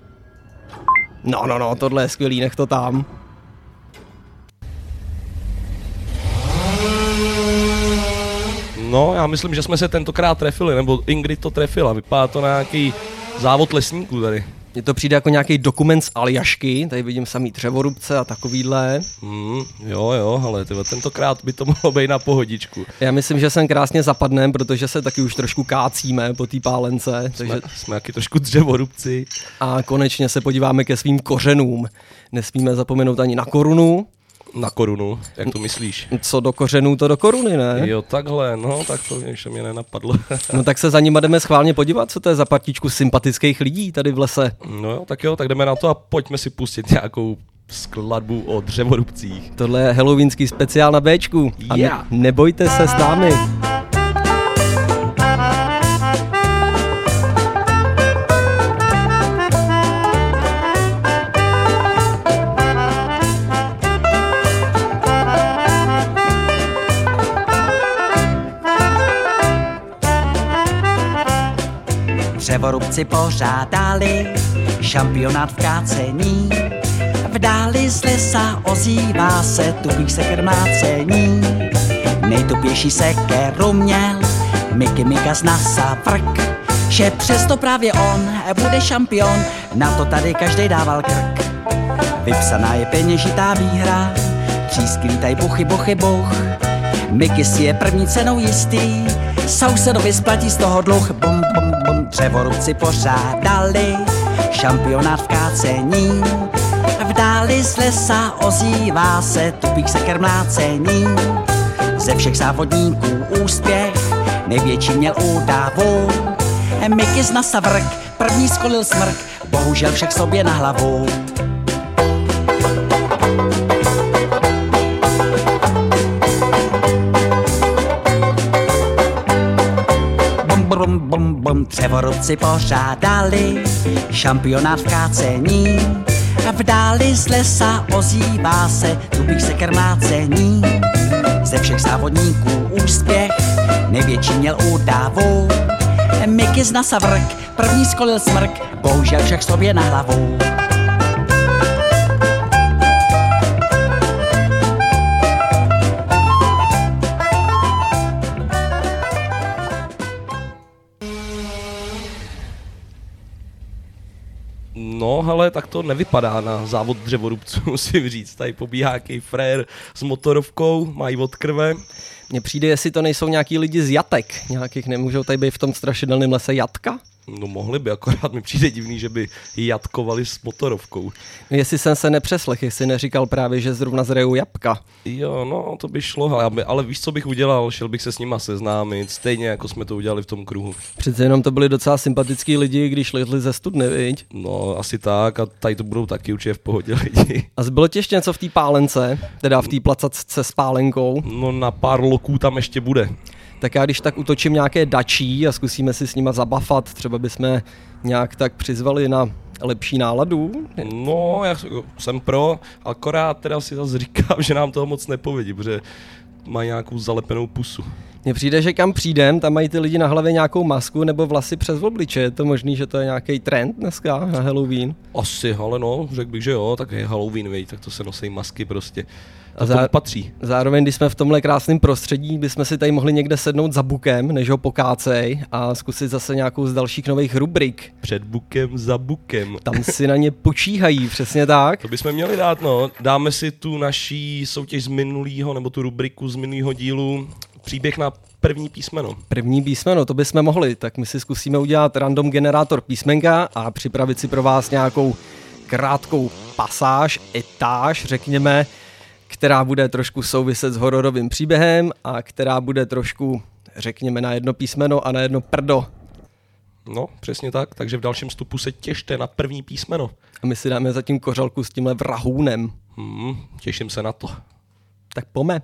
No, tohle je skvělý, nech to tam. No, já myslím, že jsme se tentokrát trefili, nebo Ingrid to trefila. Vypadá to na nějaký závod lesníků tady. Mně to přijde jako nějaký dokument z Aljašky, tady vidím samý dřevorubce a takovýhle. Jo, ale tentokrát by to mohlo být na pohodičku. Já myslím, že sem krásně zapadnem, protože se taky už trošku kácíme po té pálence. Jsme taky trošku dřevorubci. A konečně se podíváme ke svým kořenům. Nesmíme zapomenout ani na korunu. Na korunu, jak to myslíš? Co do kořenů, to do koruny, ne? Jo, takhle, no, tak to ještě mě nenapadlo. No tak se za nima jdeme schválně podívat, co to je za partičku sympatických lidí tady v lese. No jo, tak jdeme na to a pojďme si pustit nějakou skladbu o dřevorubcích. Tohle je halloweenský speciál na Bčku. A nebojte se s námi. Dřevorubci pořádali šampionát v kácení. V dáli z lesa ozývá se tupých seker mlácení. Nejtupější sekeru měl Mickey Mika z NASA vrk, že přesto právě on bude šampion, na to tady každej dával krk. Vypsaná je peněžitá výhra, třísky lítaj buchy, buchy, buch. Mickey si je první cenou jistý, sousedovi splatí z toho dluh. Bum, bum, bum. Dřevorubci pořádali šampionát v kácení. V dáli z lesa ozývá se tupých seker mlácení. Ze všech závodníků úspěch největší měl údavu. Mickey z NASA vrk, první skolil smrk, bohužel však sobě na hlavu. Bum, bum, bum. Dřevorubci pořádali šampionát v kácení. V dáli z lesa ozývá se tupých seker mlácení. Ze všech závodníků úspěch největší měl údavu. Mickey z NASA vrk, první skolil smrk, bohužel však sobě na hlavu. No, hele, tak to nevypadá na závod dřevorubců, musím říct. Tady pobíhá nějaký frér s motorovkou, mají od krve. Mně přijde, jestli to nejsou nějaký lidi z jatek. Nějakých nemůžou tady být v tom strašidelném lese jatka? No mohli by, akorát mi přijde divný, že by jatkovali s motorovkou. Jestli jsem se nepřeslech, jestli neříkal právě, že zrovna zrejou jabka. Jo, no to by šlo, ale víš, co bych udělal? Šel bych se s nima seznámit, stejně jako jsme to udělali v tom kruhu. Přece jenom to byli docela sympatický lidi, když lezli ze studny, viď? No, asi tak, a tady to budou taky určitě v pohodě lidi. A zbylo ti ještě něco v té pálence, teda v té placatce s pálenkou? No na pár loků tam ještě bude. Tak já když tak utočím nějaké dačí a zkusíme si s nima zabafat, třeba bychom nějak tak přizvali na lepší náladu. No, já jsem pro, akorát teda si zase říkám, že nám toho moc nepovědí, protože mají nějakou zalepenou pusu. Mně přijde, že kam přijdem, tam mají ty lidi na hlavě nějakou masku nebo vlasy přes obliče. Je to možný, že to je nějaký trend dneska na Halloween? Asi, ale no, řekl bych, že jo, tak je Halloween, vej, tak to se nosí masky prostě. A patří. Zároveň, když jsme v tomhle krásném prostředí, bychom si tady mohli někde sednout za bukem, než ho pokácej a zkusit zase nějakou z dalších nových rubrik. Před bukem, za bukem. Tam si na ně počíhají, přesně tak. To bychom měli dát, no. Dáme si tu naší soutěž z minulýho, nebo tu rubriku z minulýho dílu, příběh na první písmeno. První písmeno, to bychom mohli, tak my si zkusíme udělat random generátor písmenka a připravit si pro vás nějakou krátkou pasáž, etáž, řekněme, která bude trošku souviset s hororovým příběhem a která bude trošku, řekněme, na jedno písmeno a na jedno prdo. No, přesně tak, takže v dalším vstupu se těšte na první písmeno. A my si dáme zatím kořalku s tímhle vrahůnem. Těším se na to. Tak pojďme.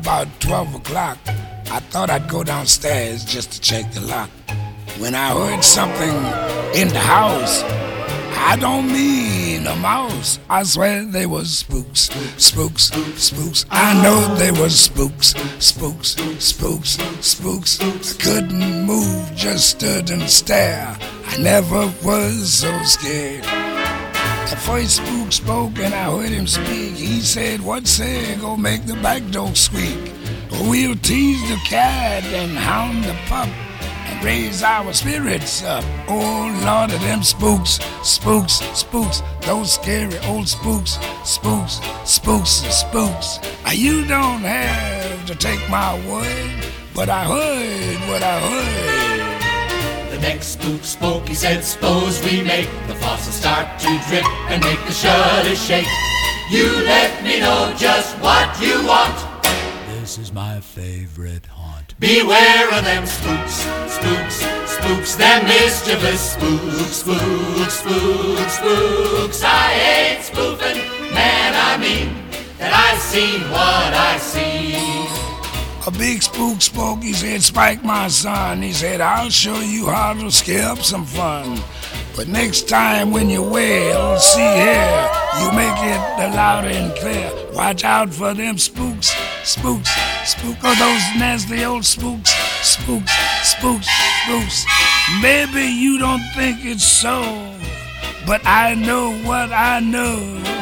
about 12 o'clock, I thought I'd go downstairs just to check the lock. When I heard something in the house, I don't mean a mouse. I swear they was spooks, spooks, spooks. I know they was spooks, spooks, spooks, spooks. I couldn't move, just stood and stared. I never was so scared. The first spook spoke and I heard him speak. He said, what say, go make the back door squeak. We'll tease the cat and hound the pup and raise our spirits up. Oh, Lord of them spooks, spooks, spooks. Those scary old spooks, spooks, spooks, spooks. You don't have to take my word, but I heard what I heard. The next spook spoke, he said, suppose we make the faucet start to drip and make the shutters shake. You let me know just what you want. This is my favorite haunt. Beware of them spooks, spooks, spooks, them mischievous spooks, spooks, spooks, spooks. I ain't spoofing, man, I mean that I've seen what I see. A big spook spoke, he said, Spike, my son. He said, I'll show you how to scare up some fun. But next time when you wail, see here, you make it loud and clear. Watch out for them spooks, spooks, spooks. Oh, those nasty old spooks, spooks, spooks, spooks. Maybe you don't think it's so, but I know what I know.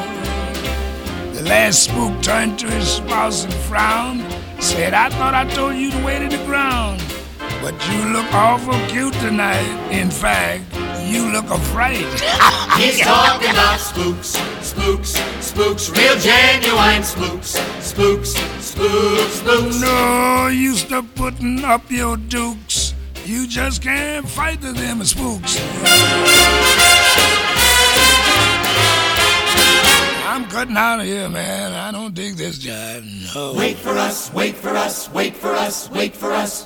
The last spook turned to his spouse and frowned. Said, I thought I told you to wait in the ground, but you look awful cute tonight. In fact, you look afraid. He's talking about spooks, spooks, spooks, real genuine spooks, spooks, spooks, spooks. No use to putting up your dukes. You just can't fight them spooks. I'm cutting out of here, man. I don't dig this jive, no. Wait for us, wait for us, wait for us, wait for us.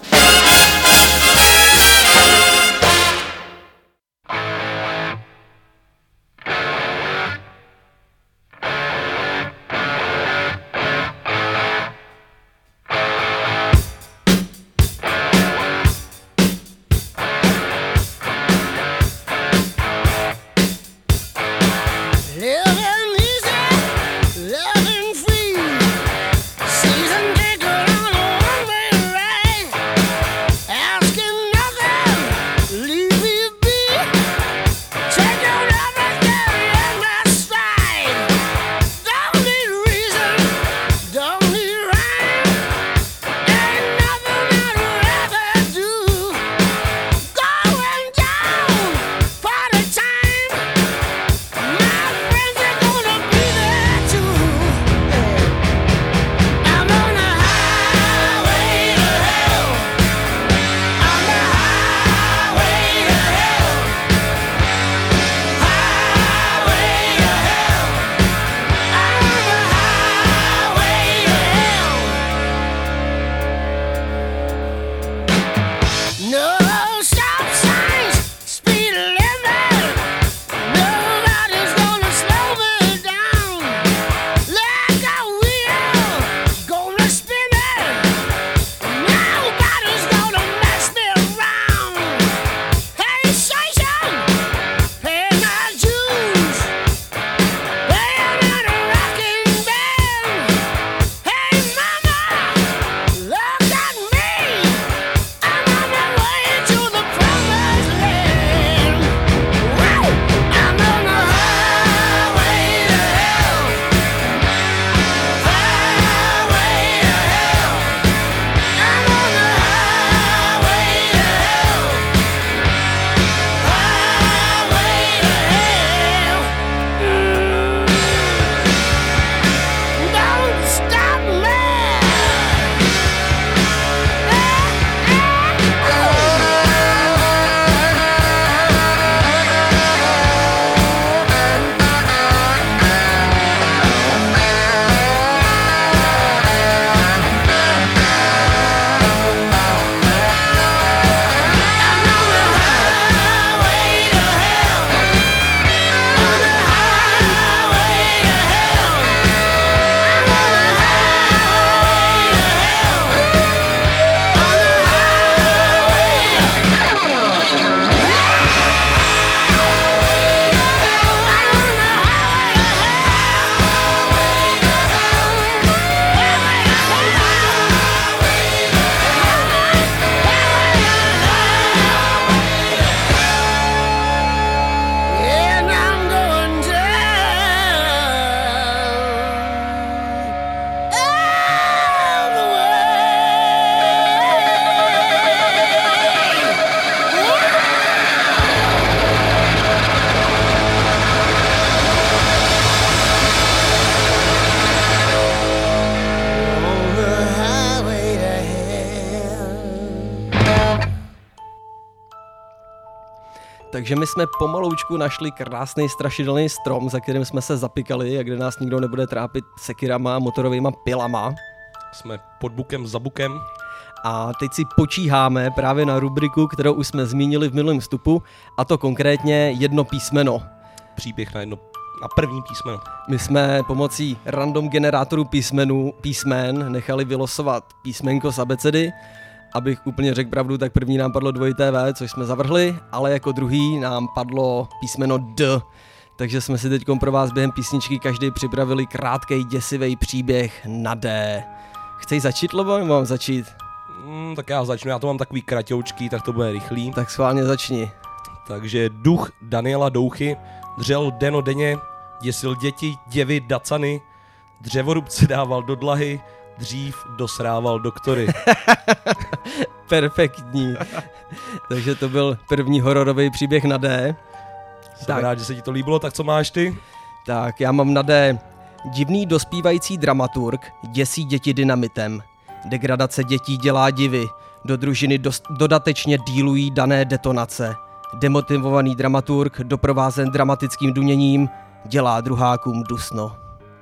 Takže my jsme pomaloučku našli krásný strašidelný strom, za kterým jsme se zapikali a kde nás nikdo nebude trápit sekirama, motorovýma pilama. Jsme pod bukem za bukem. A teď si počíháme právě na rubriku, kterou už jsme zmínili v minulém vstupu, a to konkrétně jedno písmeno. Příběh na první písmeno. My jsme pomocí random generátoru písmen nechali vylosovat písmenko z abecedy. Abych úplně řekl pravdu, tak první nám padlo dvojité V, což jsme zavrhli, ale jako druhý nám padlo písmeno D. Takže jsme si teď pro vás během písničky každý připravili krátkej děsivý příběh na D. Chceš začít, Lobo, nebo mám začít? Tak já začnu, já to mám takový kratoučký, tak to bude rychlý. Tak schválně začni. Takže duch Daniela Douchy dřel denodenně, děsil děti, děvy, dacany, dřevorubce dával do dlahy, dřív dosrával doktory. Perfektní. Takže to byl první hororový příběh na D. Jsem rád, že se ti to líbilo, tak co máš ty? Tak já mám na D. Divný dospívající dramaturg děsí děti dynamitem. Degradace dětí dělá divy. Do družiny dodatečně dílují dané detonace. Demotivovaný dramaturg, doprovázen dramatickým duněním, dělá druhákům dusno.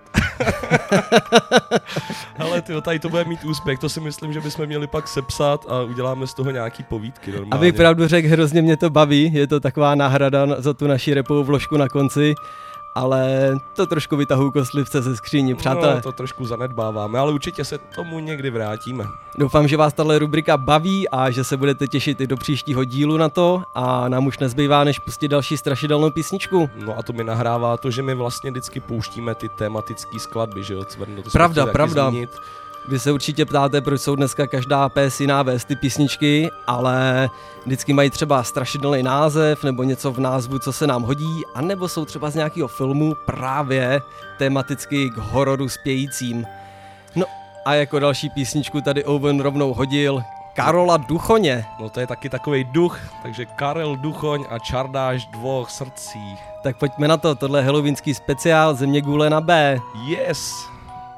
Hele, tyjo, tady to bude mít úspěch, to si myslím, že bychom měli pak sepsat a uděláme z toho nějaký povídky normálně. Abych pravdu řekl, hrozně mě to baví, je to taková náhrada za tu naši rapovou vložku na konci, ale to trošku vytahuji kostlivce ze skříni, přátelé. No, to trošku zanedbáváme, ale určitě se tomu někdy vrátíme. Doufám, že vás tahle rubrika baví a že se budete těšit i do příštího dílu na to a nám už nezbývá, než pustit další strašidelnou písničku. No a to mi nahrává to, že my vlastně vždycky pouštíme ty tematické skladby, že jo, Cvrno, to Pravda. Vy se určitě ptáte, proč jsou dneska každá PS jiná vést ty písničky, ale vždycky mají třeba strašidelný název nebo něco v názvu, co se nám hodí, anebo jsou třeba z nějakého filmu právě tematicky k hororu spějícím. No a jako další písničku tady Owen rovnou hodil Karola Duchoně. No to je taky takovej duch, takže Karel Duchoň a Čardáš dvoch srdcí. Tak pojďme na to, tohle je halloweenský speciál Země gule na B. Yes!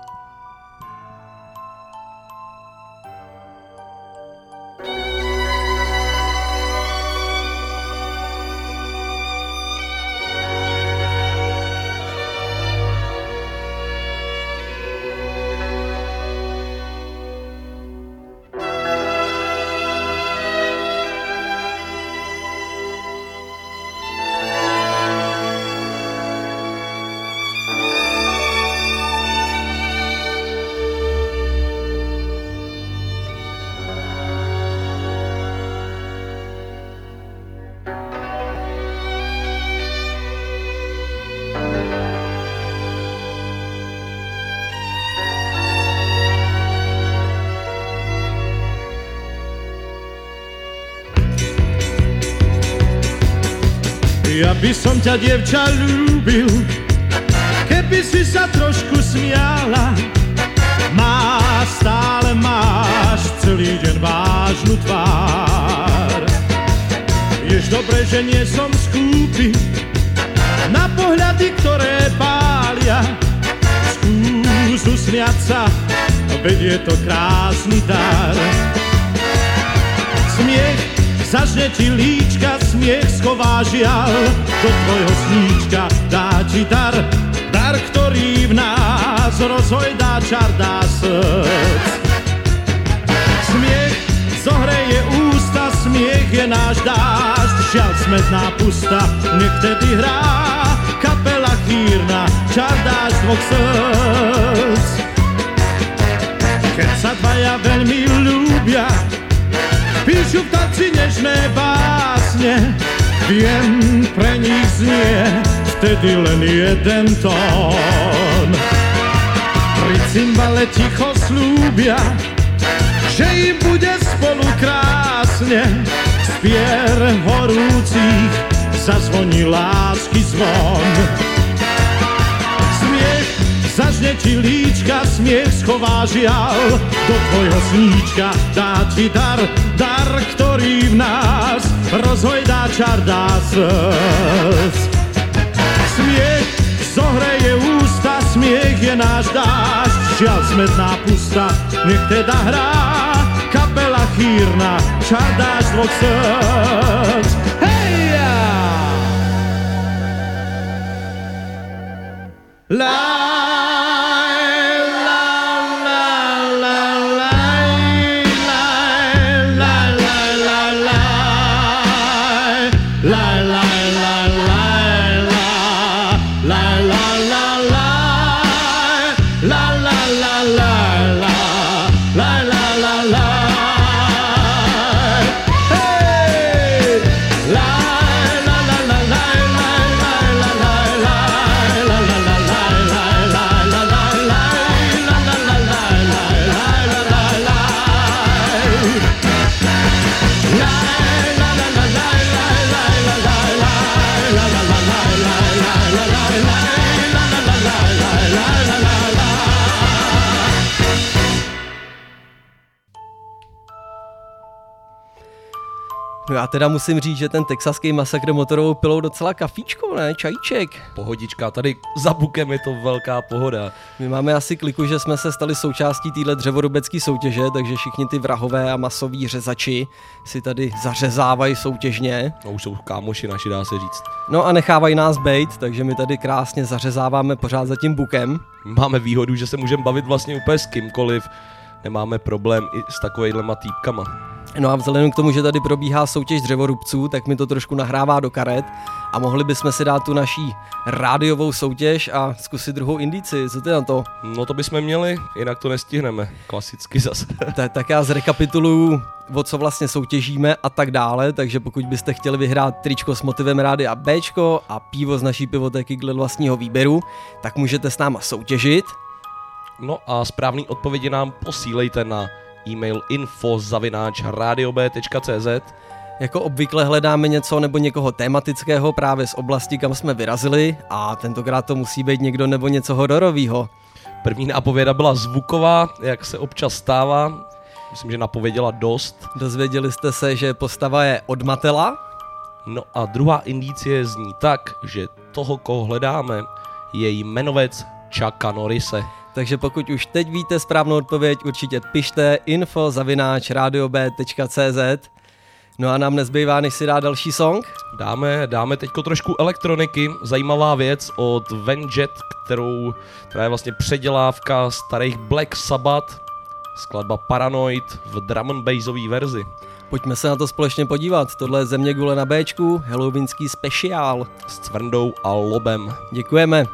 Ja by som ťa, dievča, ľúbil, keby si sa trošku smiala. Stále máš celý deň vážnu tvár. Jež dobre, že nie som skúpy na pohľady, ktoré pália. Skús usmiať sa, veď je to krásny dar. Smiech zažne ti líčka, smiech schová žiaľ, do tvojho sníčka dá ti dar, dar, ktorý v nás rozhojdá čar, dá srdc. Smiech zohreje ústa, smiech je náš dážď, žiaľ smetná pusta, nech tedy hrá kapela chýrna, čar dážď dvoch srdc. Keď sa dvaja veľmi ľúbia, píšu v tanci nežné básne, viem, pre nich znie vtedy len jeden tón. Pri cymbale ticho slúbia, že im bude spolu krásne, z pier horúcich zazvoní lásky zvon. Smiech zažne ti líčka, smiech schová žiaľ, do tvojho sníčka dá ti dar, dar, ktorý v nás rozhojdá čar, dá srdc. Smiech zohreje ústa, smiech je náš dážď, žiaľ smetná pusta, nech teda hrá kapela chýrna, čar dážď dvoch srdc. Hej! No já teda musím říct, že ten texaský masakr motorovou pilou docela kafíčko, ne? Čajíček. Pohodička, tady za bukem je to velká pohoda. My máme asi kliku, že jsme se stali součástí téhle dřevorubecké soutěže, takže všichni ty vrahové a masoví řezači si tady zařezávají soutěžně. No už jsou kámoši naši, dá se říct. No a nechávají nás bejt, takže my tady krásně zařezáváme pořád za tím bukem. Máme výhodu, že se můžeme bavit vlastně úplně s kýmkoliv. Nemáme problém i s takovejhlema týpkama. No a vzhledem k tomu, že tady probíhá soutěž dřevorubců, tak mi to trošku nahrává do karet a mohli bychom si dát tu naší rádiovou soutěž a zkusit druhou indici. Co ty na to? No to bychom měli, jinak to nestihneme. Klasicky zase. Tak já zrekapituluju, o co vlastně soutěžíme a tak dále, takže pokud byste chtěli vyhrát tričko s motivem Rádia Bčko a pivo z naší pivotéky dle vlastního výběru, tak můžete s náma soutěžit. No a správný odpovědi nám posílejte na e-mail info@radiob.cz. Jako obvykle hledáme něco nebo někoho tematického právě z oblasti, kam jsme vyrazili a tentokrát to musí být někdo nebo něco hororovýho. První nápověda byla zvuková, jak se občas stává. Myslím, že napověděla dost. Dozvěděli jste se, že postava je od Matela. No a druhá indicie zní tak, že toho, koho hledáme, je jmenovec Chucka Norrise. Takže pokud už teď víte správnou odpověď, určitě pište info@radiob.cz. No a nám nezbývá, než si dá další song. Dáme teďko trošku elektroniky, zajímavá věc od Venjet, která je vlastně předělávka starých Black Sabbath, skladba Paranoid v drum and bassové verzi. Pojďme se na to společně podívat, tohle je Země gule na Bčku, halloweenský speciál. S Cvrndou a Lobem. Děkujeme.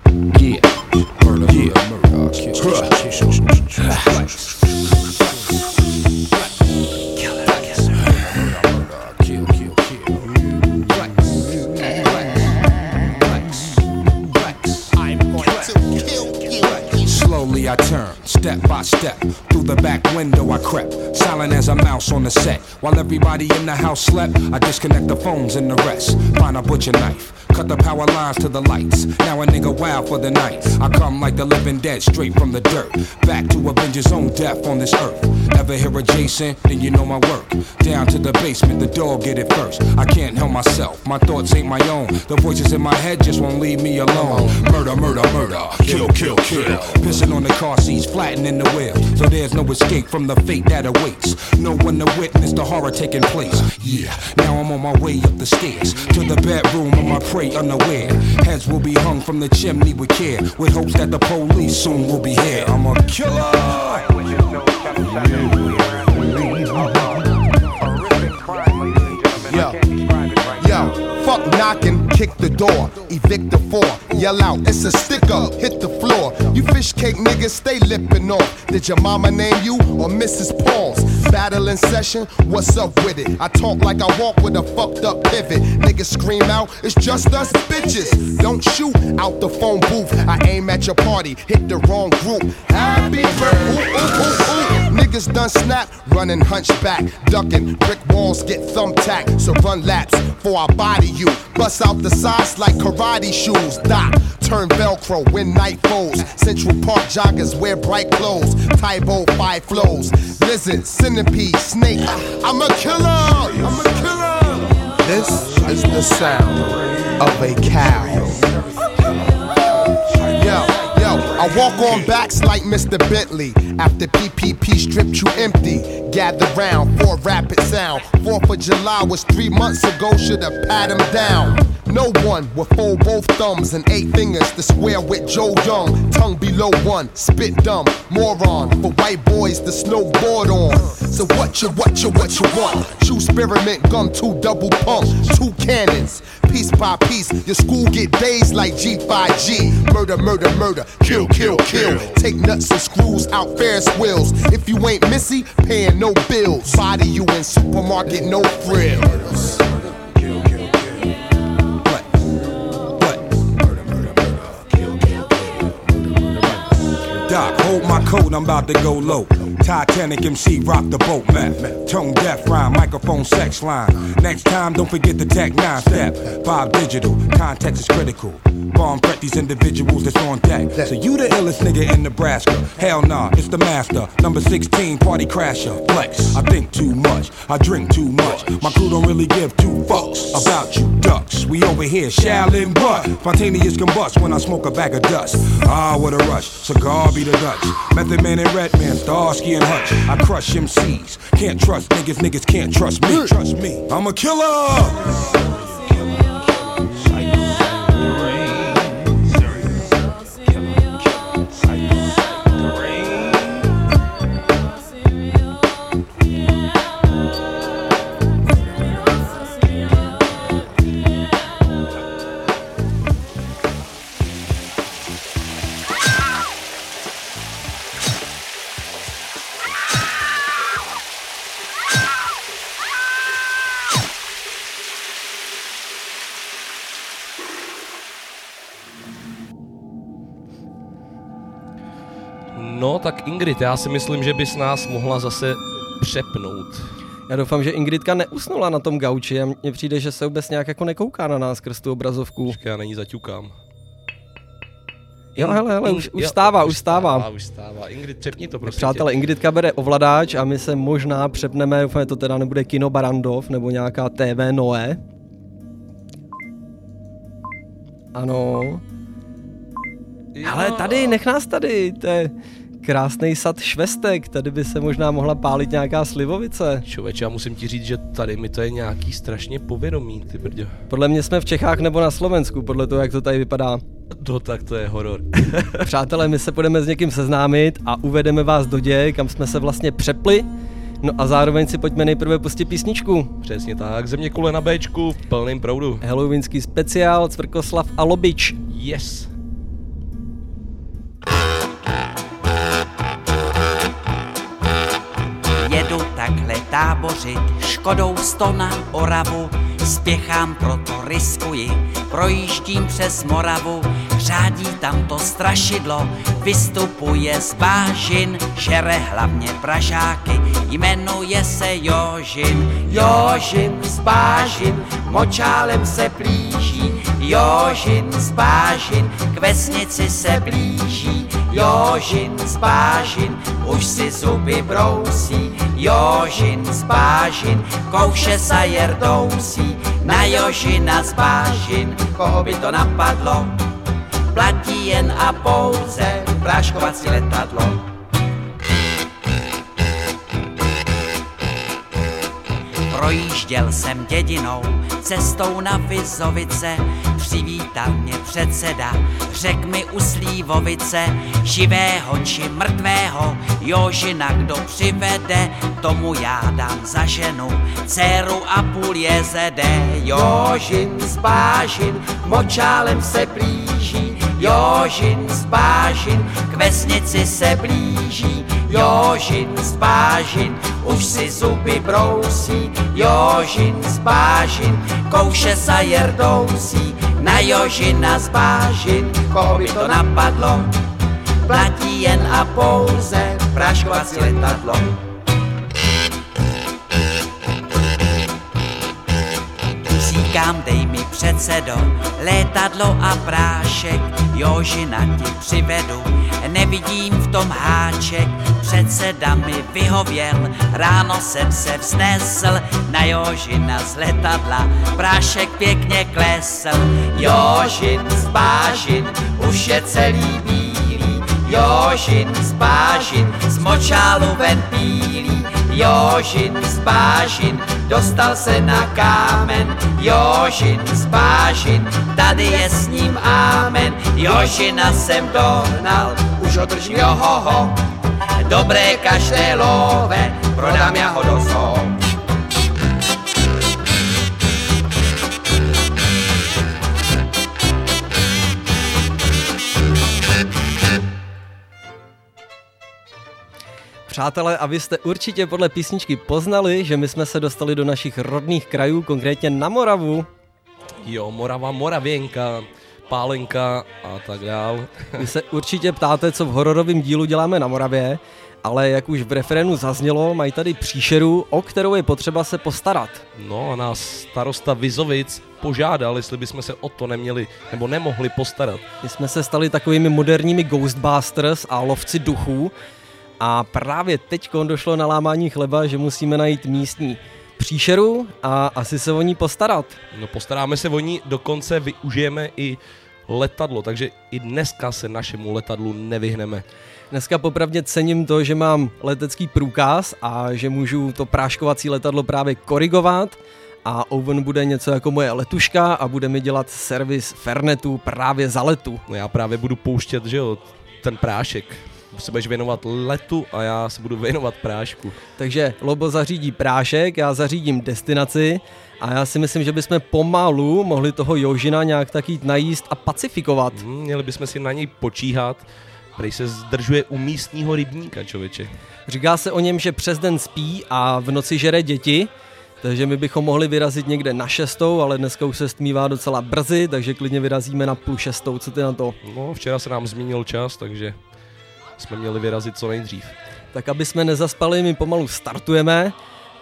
Yeah, murder, yeah, murder, Slowly I turn, step by step. Through the back window I crept, silent as a mouse on the set. While everybody in the house slept, I disconnect the phones and the rest. Find a butcher knife, cut the power lines to the lights. Now a nigga wild for the night. I come like the living dead, straight from the dirt. Back to avenge his own death on this earth. Ever hear a Jason? Then you know my work. Down to the basement, the dog get it first. I can't help myself, my thoughts ain't my own. The voices in my head just won't leave me alone. Murder, murder, murder, kill, kill, kill. Pissing on the car seats, flattening the wheel. So there's no escape from the fate that awaits. No one to witness the horror taking place. Yeah, now I'm on my way up the stairs to the bedroom of my prey unaware. Heads will be hung from the chimney with care, with hopes that the police soon will be here. I'm a killer. Yo, fuck knocking, kick the door, evict the four, yell out, it's a stick up, hit the floor. You fish cake niggas stay lippin' off. Did your mama name you or Mrs. Paul's? Battle in session, what's up with it? I talk like I walk with a fucked up pivot. Niggas scream out, it's just us bitches. Don't shoot out the phone booth. I aim at your party, hit the wrong group. Happy birthday, ooh, ooh, ooh, ooh. Niggas done snap, running hunchback, ducking, brick walls get thumbtacked. So run laps, for I body you. Bust out the sides like karate shoes. Doc, turn Velcro when night falls. Central Park joggers wear bright clothes. Tybo 5 flows. Lizard, centipede, snake. I'm a killer. I'm a killer. This is the sound of a cow. Yo, I walk on backs like Mr. Bentley. After PPP stripped you empty. Gather round for rapid sound. 4th of July was 3 months ago. Should've pat him down. No one will fold both thumbs and 8 fingers to square with Joe Young. Tongue below 1, spit dumb, moron. For white boys to snowboard on. So what you want? True spearmint gum, 2 double pump, 2 cannons. Piece by piece, your school get dazed like G5G. Murder, murder, murder, kill, kill, kill. Take nuts and screws out Ferris wheels. If you ain't Missy, paying no bills. Body you in supermarket, no frills. Doc, hold my coat, I'm about to go low. Titanic MC, rock the boat map. Tone deaf rhyme, microphone sex line. Next time, don't forget the Tech 9 step. Bob Digital, context is critical. Bomb threat these individuals that's on deck. So you the illest nigga in Nebraska? Hell nah, it's the master. Number 16, party crasher. Flex, I think too much, I drink too much. My crew don't really give 2 fucks about you ducks. We over here, Shaolin butt. Spontaneous combust when I smoke a bag of dust. Ah, what a rush, cigar be the Dutch. Method Man and Redman, Starsky and Hutch. I crush MCs, can't trust niggas, niggas can't trust me. Trust me, I'm a killer. No tak Ingrid, já si myslím, že bys nás mohla zase přepnout. Já doufám, že Ingridka neusnula na tom gauči a mně přijde, že se vůbec nějak jako nekouká na nás skrz tu obrazovku. Počkej, já na ní zaťukám. Jo, hele, už stává. Už stává. Ingrid, přepni to prosím. Přátelé, Ingridka bere ovladač a my se možná přepneme, doufám, to teda nebude Kino Barandov nebo nějaká TV Noé. Ano. Ale tady, nech nás tady, to je krásný sad švestek, tady by se možná mohla pálit nějaká slivovice. Člověče, já musím ti říct, že tady mi to je nějaký strašně povědomí, ty brďo. Podle mě jsme v Čechách nebo na Slovensku, podle toho, jak to tady vypadá. No tak to je horor. Přátelé, my se budeme s někým seznámit a uvedeme vás do děje, kam jsme se vlastně přepli. No a zároveň si pojďme nejprve pustit písničku. Přesně tak, Zeměkoule na Bčku v plném proudu. Halloweenský speciál, Cvrkoslav a Lobič. Yes. tábořit, Škodou 100 na Oravu, spěchám, proto riskuji, projíždím přes Moravu, řádí tam to strašidlo, vystupuje z bážin, žere hlavně Pražáky, jmenuje se Jožin. Jožin z bážin, močálem se plíží, Jožin z bážin, k vesnici se blíží, Jožin z bážin, už si zuby brousí, Jožin z bážin, kouše sa jerdousí, na Jožina z bážin, koho by to napadlo, platí jen a pouze práškovací letadlo. Projížděl jsem dědinou, cestou na Vizovice, přivítal mě předseda, řek mi u Slívovice, živého či mrtvého, Jožina kdo přivede, tomu já dám za ženu, dceru a půl jezede. Jožin z bážin, močálem se blíží, Jožin z bážin, k vesnici se blíží, Jožin z bážin, už si zuby brousí, Jožin z bážin, kouše sa jerdousí, na Jožina z bážin, koho by to napadlo, platí jen a pouze práškovací letadlo. Říkám, dej mi předsedo, létadlo a prášek, Jožina ti přivedu, nevidím v tom háček, předseda mi vyhověl, ráno jsem se vznesl, na Jožina z letadla, prášek pěkně klesl. Jožin z bážin, už je celý bílý, Jožin z bážin, z močálu ven pílí, Jožin z bážin, dostal se na kámen, Jožin z bážin, tady je s ním ámen, Jožina jsem dohnal, už ho držím johoho, dobré kaštélové, prodám já ho do zoo. Přátelé, a vy jste určitě podle písničky poznali, že my jsme se dostali do našich rodných krajů, konkrétně na Moravu. Jo, Morava, Moravěnka, Pálenka a tak dál. Vy se určitě ptáte, co v hororovém dílu děláme na Moravě, ale jak už v referénu zaznělo, mají tady příšeru, o kterou je potřeba se postarat. No a nás starosta Vizovic požádal, jestli bychom se o to neměli nebo nemohli postarat. My jsme se stali takovými moderními Ghostbusters a lovci duchů a právě teď došlo na lámání chleba, že musíme najít místní příšeru a asi se o ní postarat. No postaráme se o ní, dokonce využijeme i letadlo, takže i dneska se našemu letadlu nevyhneme. Dneska popravdě cením to, že mám letecký průkaz a že můžu to práškovací letadlo právě korigovat a Owen bude něco jako moje letuška a bude mi dělat servis Fernetu právě za letu. No já právě budu pouštět, že jo, ten prášek. Se budeš věnovat letu a já se budu věnovat prášku. Takže Lobo zařídí prášek, já zařídím destinaci a já si myslím, že bychom pomalu mohli toho Jožina nějak tak jít najíst a pacifikovat. Měli bychom si na něj počíhat, prej se zdržuje u místního rybníka, člověče. Říká se o něm, že přes den spí a v noci žere děti, takže my bychom mohli vyrazit někde na 6, ale dneska už se stmívá docela brzy, takže klidně vyrazíme na 5:30, co ty na to? No, včera se nám zmínil čas, takže jsme měli vyrazit co nejdřív. Tak aby jsme nezaspali, my pomalu startujeme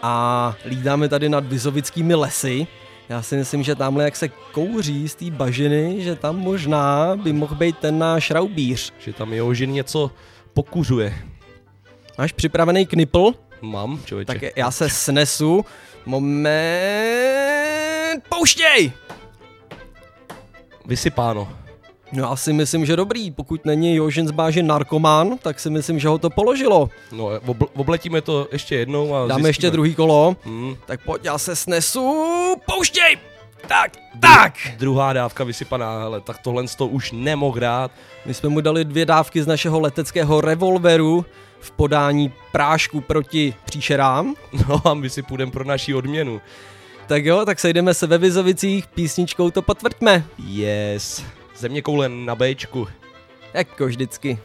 a lídáme tady nad Vizovickými lesy. Já si myslím, že tamhle jak se kouří z té bažiny, že tam možná by mohl být ten náš raubíř. Že tam Jožin něco pokuřuje. Máš připravený knipl? Mám, člověče. Tak já se snesu. Moment. Pouštěj! Vysypáno. No já si myslím, že dobrý. Pokud není Jožin z bážin narkomán, tak si myslím, že ho to položilo. No, obletíme to ještě jednou a dáme zjistíme. Ještě druhý kolo. Tak pojď, já se snesu. Pouštěj! Tak! Druhá dávka vysypaná, hele, tak tohle to už nemohl dát. My jsme mu dali 2 dávky z našeho leteckého revolveru v podání prášku proti příšerám. No a my si půjdeme pro naši odměnu. Tak jo, tak sejdeme se ve Vizovicích, písničkou to potvrďme. Yes. Zeměkoule na Bčku. Jako vždycky.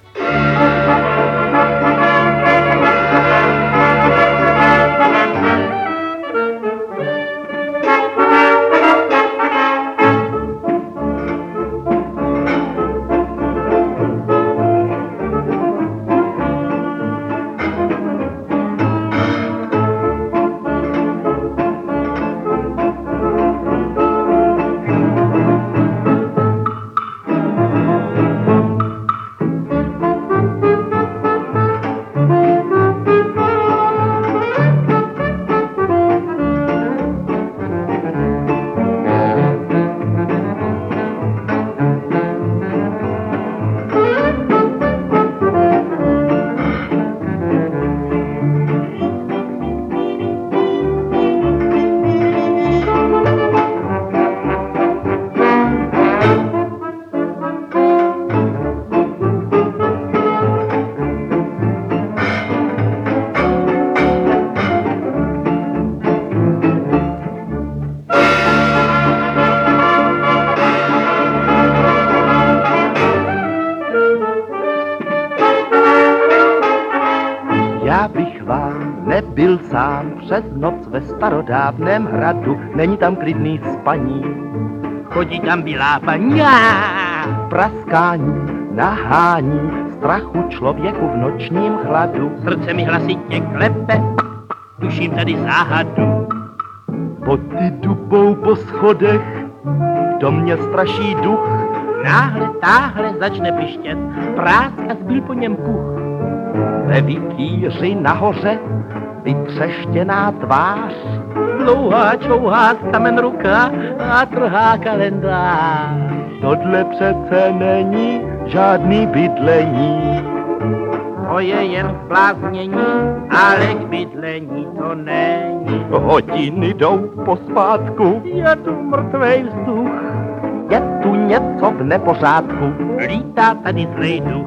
Byl sám přes noc ve starodávném hradu, není tam klidný spaní. Chodí tam bílá paní, praskání, nahání, strachu člověku v nočním chladu. Srdce mi hlasitě klepe, tuším tady záhadu. Boty dubou po schodech, v domě straší duch. Náhle, táhle začne pištět, prásk a zbyl po něm puch. Ve vikýři nahoře vytřeštěná tvář, dlouhá čouhá kamen ruka a trhá kalendář. Tohle přece není žádný bydlení. To je jen zbláznění, ale k bydlení to není. Hodiny jdou pospátku, je tu mrtvej vzduch. Je tu něco v nepořádku, lítá tady zlej duch.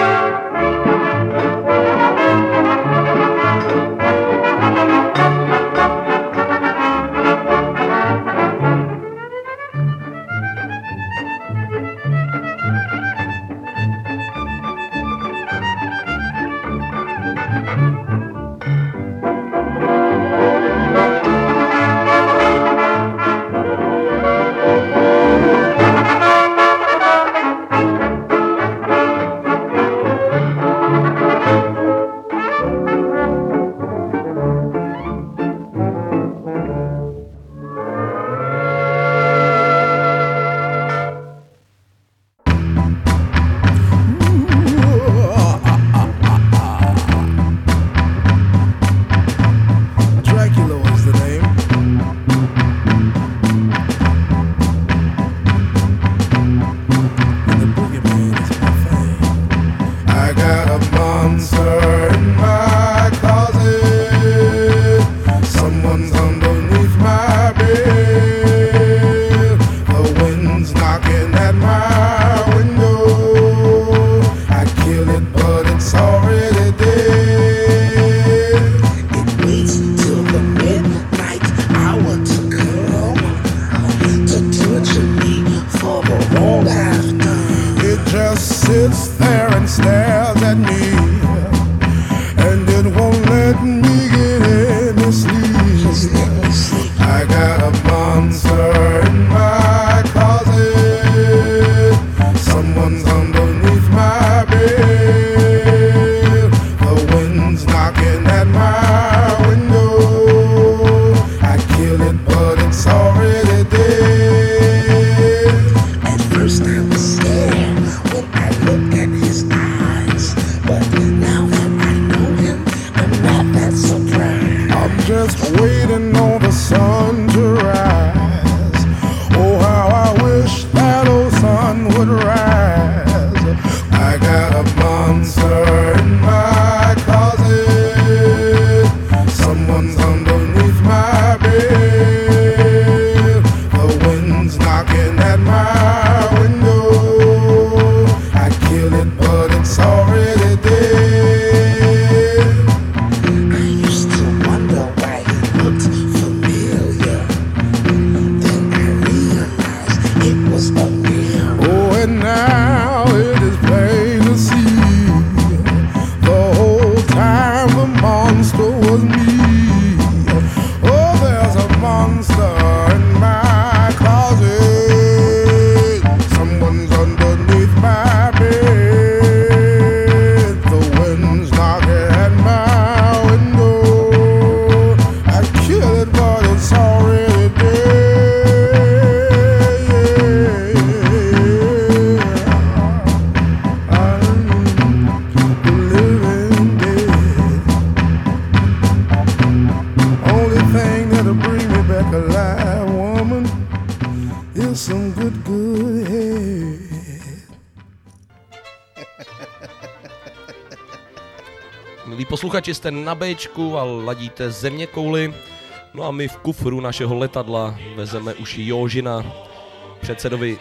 Milí posluchači, jste na Bčku a ladíte Zeměkouli. No a my v kufru našeho letadla vezeme už Jožina, předsedovi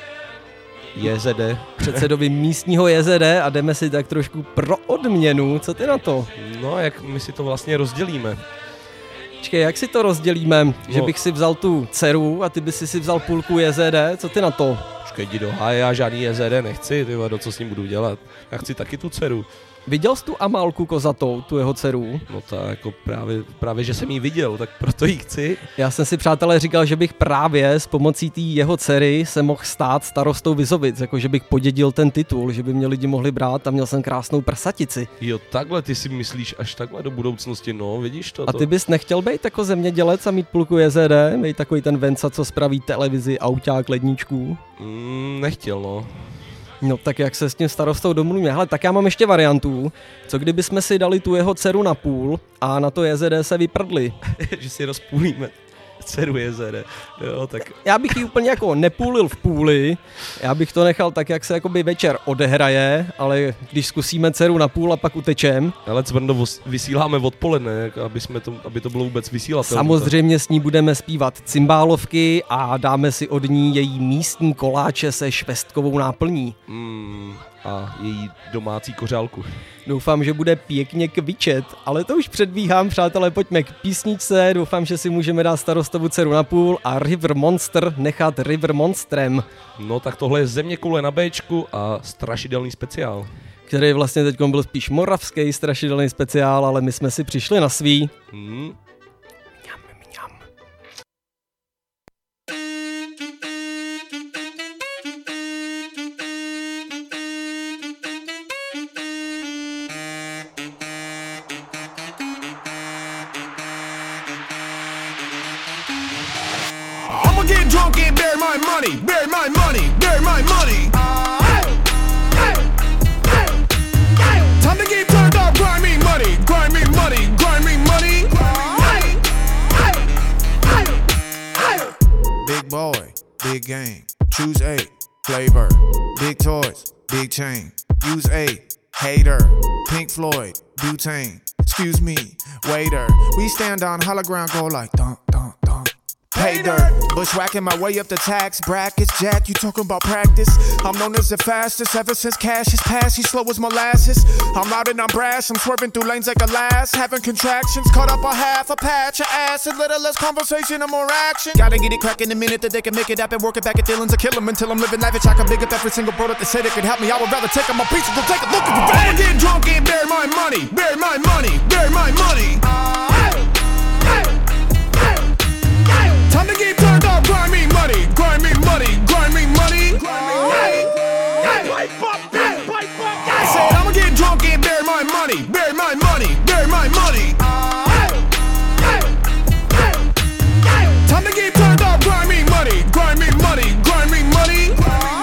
JZD. Předsedovi místního JZD a jdeme si tak trošku pro odměnu. Co ty na to? No, jak my si to vlastně rozdělíme? Počkej, jak si to rozdělíme? No. Že bych si vzal tu dceru a ty by si vzal půlku JZD? Co ty na to? Počkej, jdi do háje, já žádný JZD nechci, ty vado, co s ním budu dělat? Já chci taky tu dceru. Viděl jsi tu Amálku kozatou, tu jeho dceru? No tak jako právě, že jsem ji viděl, tak proto ji chci. Já jsem si, přátelé, říkal, že bych právě s pomocí té jeho dcery se mohl stát starostou Vizovic, jako že bych podědil ten titul, že by mě lidi mohli brát a měl jsem krásnou prsatici. Jo, takhle ty si myslíš až takhle do budoucnosti, no, vidíš to? A ty bys nechtěl být jako zemědělec a mít půlku JZD, být takový ten Venca, co spraví televizi, auťák, ledničku? Nechtěl, no. No tak jak se s tím starostou domluvíme? Hele, tak já mám ještě variantu. Co kdyby jsme si dali tu jeho dceru na půl a na to JZD se vyprdli? Že si rozpůlíme dceru JZD. Jo, tak. Já bych ji úplně jako nepůlil v půli, já bych to nechal tak, jak se jakoby večer odehraje, ale když zkusíme dceru na půl a pak utečem. Ale Cvrndo, vysíláme odpoledne, aby to bylo vůbec vysílatelné. Samozřejmě s ní budeme zpívat cymbálovky a dáme si od ní její místní koláče se švestkovou náplní. A její domácí kořálku. Doufám, že bude pěkně kvičet, ale to už předbíhám, přátelé, pojďme k písničce, doufám, že si můžeme dát starostovu dceru na půl a River Monster nechat River Monstrem. No tak tohle je Zeměkoule na Bčku a strašidelný speciál. Který vlastně teď byl spíš moravský strašidelný speciál, ale my jsme si přišli na svý. Get drunk and bury my money, bury my money, bury my money. Time to get turned up, grind me money, grind me money, grind me money. Big boy, big game, choose A, flavor, big toys, big chain, use A, hater, Pink Floyd, butane, excuse me, waiter, we stand on hollow ground, go like dun, dun, dun. Pay dirt, bushwhacking my way up the tax brackets. Jack, you talking about practice? I'm known as the fastest ever since cash has passed. He's slow as molasses. I'm loud and I'm brash. I'm swerving through lanes like a lass. Having contractions, caught up a half a patch of acid. Little less conversation and more action. Gotta get it cracking the minute that they can make it happen. Work it back at Dylan's or kill 'em until I'm living lavish. I can big up every single bro that they say they could help me. I would rather take 'em my pieces than take a look at the bag. Get drunk and bury my money, bury my money, bury my money. Time to get turned up, grind me money, grind me money, grind me money. I said I'ma get drunk and bury my money, bury my money, bury my money. Time to get turned up, grind me money, grind me money, grind me money.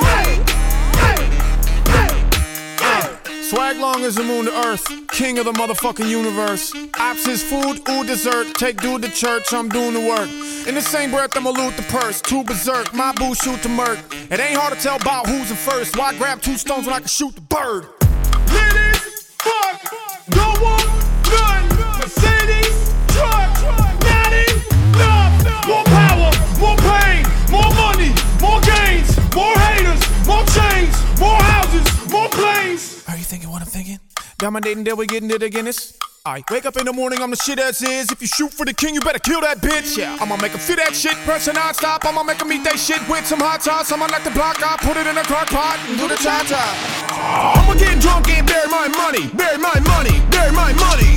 Swag long as the moon to earth, king of the motherfucking universe. Ops is food, ooh dessert, take dude to church, I'm doing the work. In the same breath I'ma loot the purse, too berserk, my boo shoot the murk. It ain't hard to tell about who's in first, why grab 2 stones when I can shoot the bird? Ladies, fuck, don't want none. Mercedes, truck, not enough. More power, more pain, more money, more gains, more haters, more chains, more houses, more planes. Are you thinking what I'm thinking? Dominating till we getting it again. I wake up in the morning, I'm the shit as is. If you shoot for the king, you better kill that bitch. Yeah, I'ma make 'em feel that shit, pressure non-stop. I'ma make 'em eat that shit with some hot sauce. I'ma knock the block out, put it in a crock pot and do the cha-cha. I'ma get drunk and bury my money, bury my money, bury my money.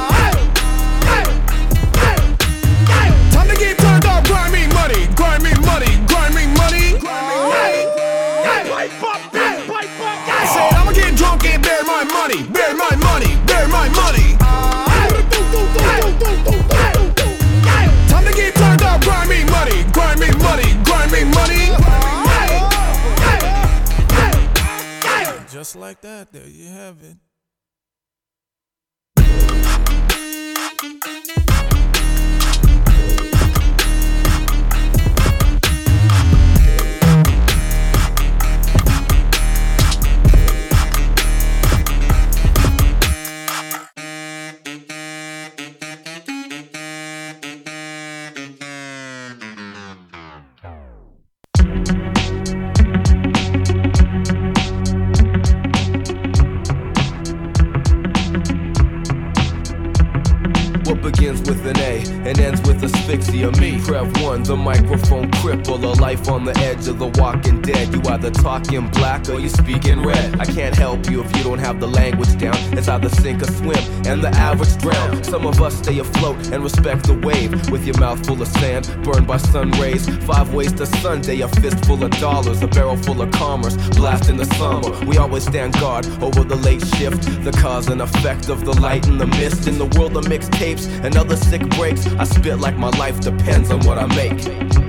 Time to get turned up, grind me money, grind me money, grind me money. I said I'ma get drunk and bury my money, bury my money, bury my money. Time to get turned up, grind me money, grind me money, grind me money. Just like that, there you have it. word begins with an A and ends with asphyxia. Me, Prev 1, the microphone cripple, a life on the edge of the walking dead. You either talking black or you speaking red. I can't help you if you don't have the language down. It's either sink or swim, and the average drown. Some of us stay afloat and respect the wave. With your mouth full of sand, burned by sun rays. 5 ways to Sunday, a fist full of dollars, a barrel full of commerce, blast in the summer. We always stand guard over the late shift, the cause and effect of the light and the mist. In the world of mixtapes and other sick breaks, I spit like my life depends on what I make.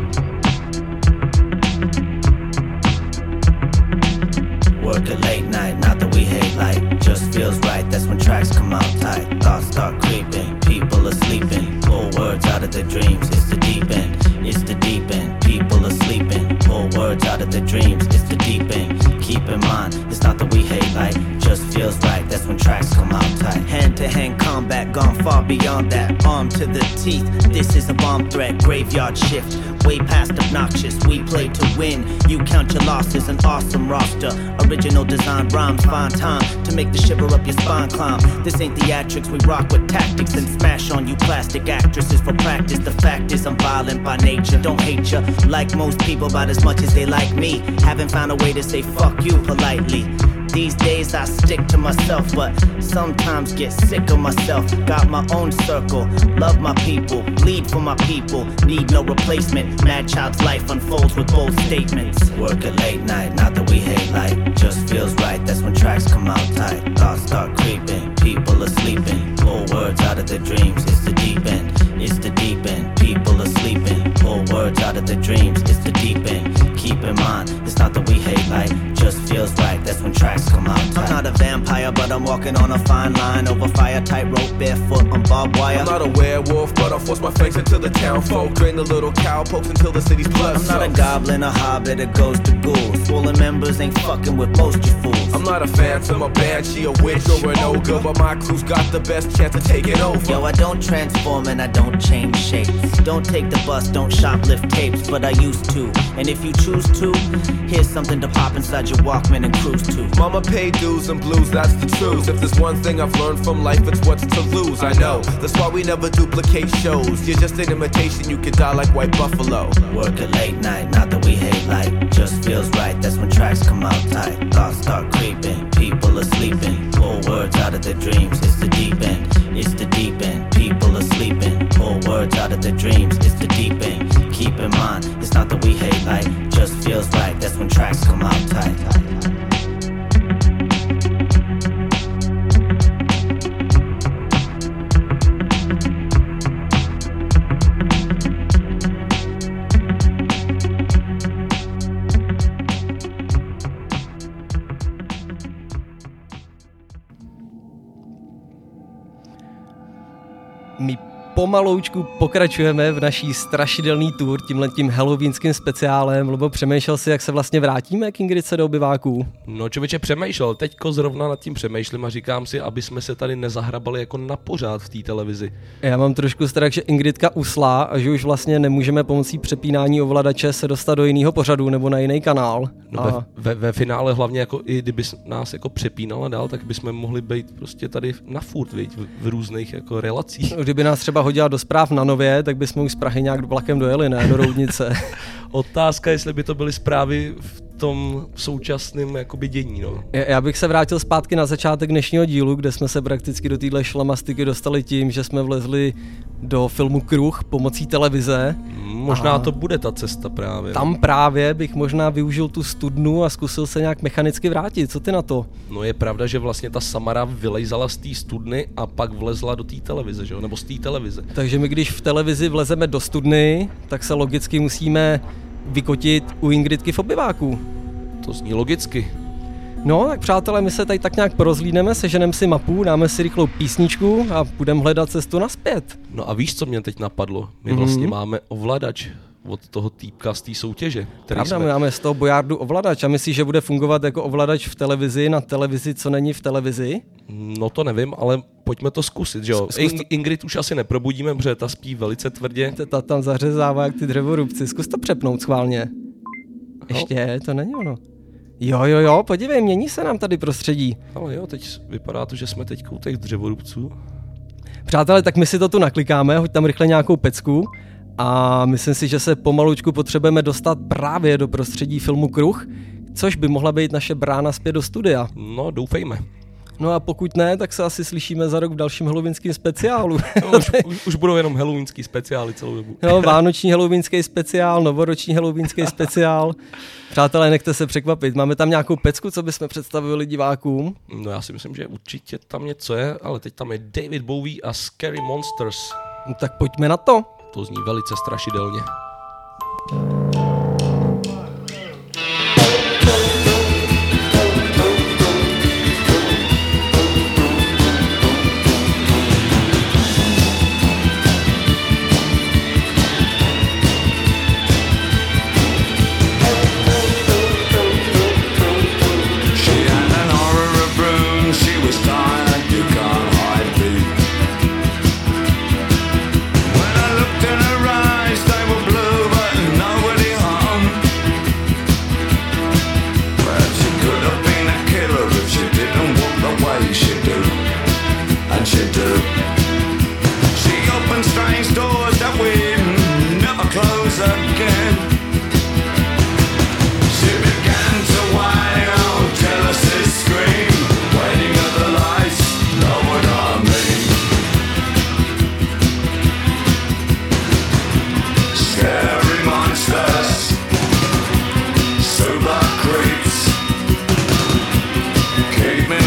Work a late night, not that we hate light. Just feels right, that's when tracks come out tight. Thoughts start creeping, people are sleeping. Pull words out of their dreams, it's the deep end. It's the deep end, people are sleeping. Pull words out of their dreams, it's the deep end. Keep in mind, it's not that we hate light. Just feels right, that's when tracks come out tight. Hand-to-hand combat, gone far beyond that. Arm to the teeth, this is a bomb threat. Graveyard shift, way past obnoxious. We play to win, you count your losses. An awesome roster, original design rhymes. Find time to make the shiver up your spine climb. This ain't theatrics, we rock with tactics and smash on you plastic actresses for practice. The fact is I'm violent by nature, don't hate ya like most people, about as much as they like me. Haven't found a way to say fuck you politely. These days I stick to myself, but sometimes get sick of myself. Got my own circle, love my people, bleed for my people, need no replacement. Mad Child's life unfolds with bold statements. Work a late night, not that we hate light. Just feels right, that's when tracks come out tight. Thoughts start creeping, people are sleeping. Pull words out of their dreams, it's the deep end. It's the deep end, people are sleeping. Pull words out of their dreams, it's the deep end. Keep in mind, it's not that we hate light. Just feels right, that's when tracks come out tight. I'm not a vampire, but I'm walking on a fine line. Over fire, tightrope, barefoot on barbed wire. I'm not a werewolf, but I force my fangs into the town folk. Drain the little cowpokes until the city's blood I'm not a goblin, a hobbit, a ghost, a ghoul. Swollen members ain't fucking with most you fools. I'm not a phantom, a banshee, a witch, or an ogre, but my crew's got the best chance of taking over. Yo, I don't transform and I don't change shapes. Don't take the bus, don't shoplift tapes, but I used to. And if you choose to, here's something to pop inside your Walkman and cruise to. Mama paid dues and blues, that's the truth. If there's one thing I've learned from life, it's what's to lose. I know, that's why we never duplicate shows. You're just an imitation, you could die like White Buffalo. Work a late night, not that we hate light. Just feels right, that's when tracks come out tight. Thoughts start creeping, people are sleeping. Pull words out of their dreams, it's the deep end. It's the deep end, people are sleeping. Pull words out of their dreams, it's the deep end. Keep in mind, it's not that we hate light. Just feels right, that's when tracks come out tight. My pomaloučku pokračujeme v naší strašidelný tour tímhletím halloweenským speciálem. Lubo, přemýšlel si, jak se vlastně vrátíme k Ingridce do obyváků? No člověče, přemýšlel. Teďko zrovna nad tím přemýšlím a říkám si, aby jsme se tady nezahrabali jako na pořád v té televizi. Já mám trošku strach, že Ingridka usla a že už vlastně nemůžeme pomocí přepínání ovladače se dostat do jiného pořadu nebo na jiný kanál. No a ve finále hlavně jako i kdyby nás jako přepínala dál, tak bychom mohli být prostě tady na furt, v různých jako relacích. Kdyby nás třeba hodila do zpráv na Nově, tak bychom už z Prahy nějak vlakem dojeli, ne? Do Roudnice. Otázka, jestli by to byly zprávy v tom současném jakoby dění, no. Já bych se vrátil zpátky na začátek dnešního dílu, kde jsme se prakticky do téhle šlamastiky dostali tím, že jsme vlezli do filmu Kruh pomocí televize. Možná to bude ta cesta právě. Tam právě bych možná využil tu studnu a zkusil se nějak mechanicky vrátit. Co ty na to? No je pravda, že vlastně ta Samara vylejzala z té studny a pak vlezla do té televize, že jo? Nebo z té televize. Takže my když v televizi vlezeme do studny, tak se logicky musíme vykotit u Ingridky v obyváku. To zní logicky. No, tak přátelé, my se tady tak nějak porozhlídneme, seženeme si mapu, dáme si rychlou písničku a budeme hledat cestu nazpět. No a víš, co mě teď napadlo? My vlastně máme ovladač od toho týpka z té soutěže. Pravda, my máme z toho bojardu ovladač a myslíš, že bude fungovat jako ovladač v televizi na televizi, co není v televizi? No to nevím, ale pojďme to zkusit, že jo? Ingrid už asi neprobudíme, protože ta spí velice tvrdě. Ta tam zařezává jak ty dřevorubci, zkus to přepnout schválně. Ještě, to není ono. Jo, podívej, mění se nám tady prostředí. Ale jo, teď vypadá to, že jsme teď u těch dřevorubců. Přátelé, tak my si to tu naklikáme, hoď tam rychle nějakou pecku a myslím si, že se pomalučku potřebujeme dostat právě do prostředí filmu Kruh, což by mohla být naše brána zpět do studia. No, doufejme. No a pokud ne, tak se asi slyšíme za rok v dalším halloweenském speciálu. No, už budou jenom halloweenský speciály celou dobu. No, vánoční halloweenský speciál, novoroční halloweenský speciál. Přátelé, nechte se překvapit. Máme tam nějakou pecku, co bychom představili divákům? No já si myslím, že určitě tam něco je, ale teď tam je David Bowie a Scary Monsters. No, tak pojďme na to. To zní velice strašidelně. Cavemen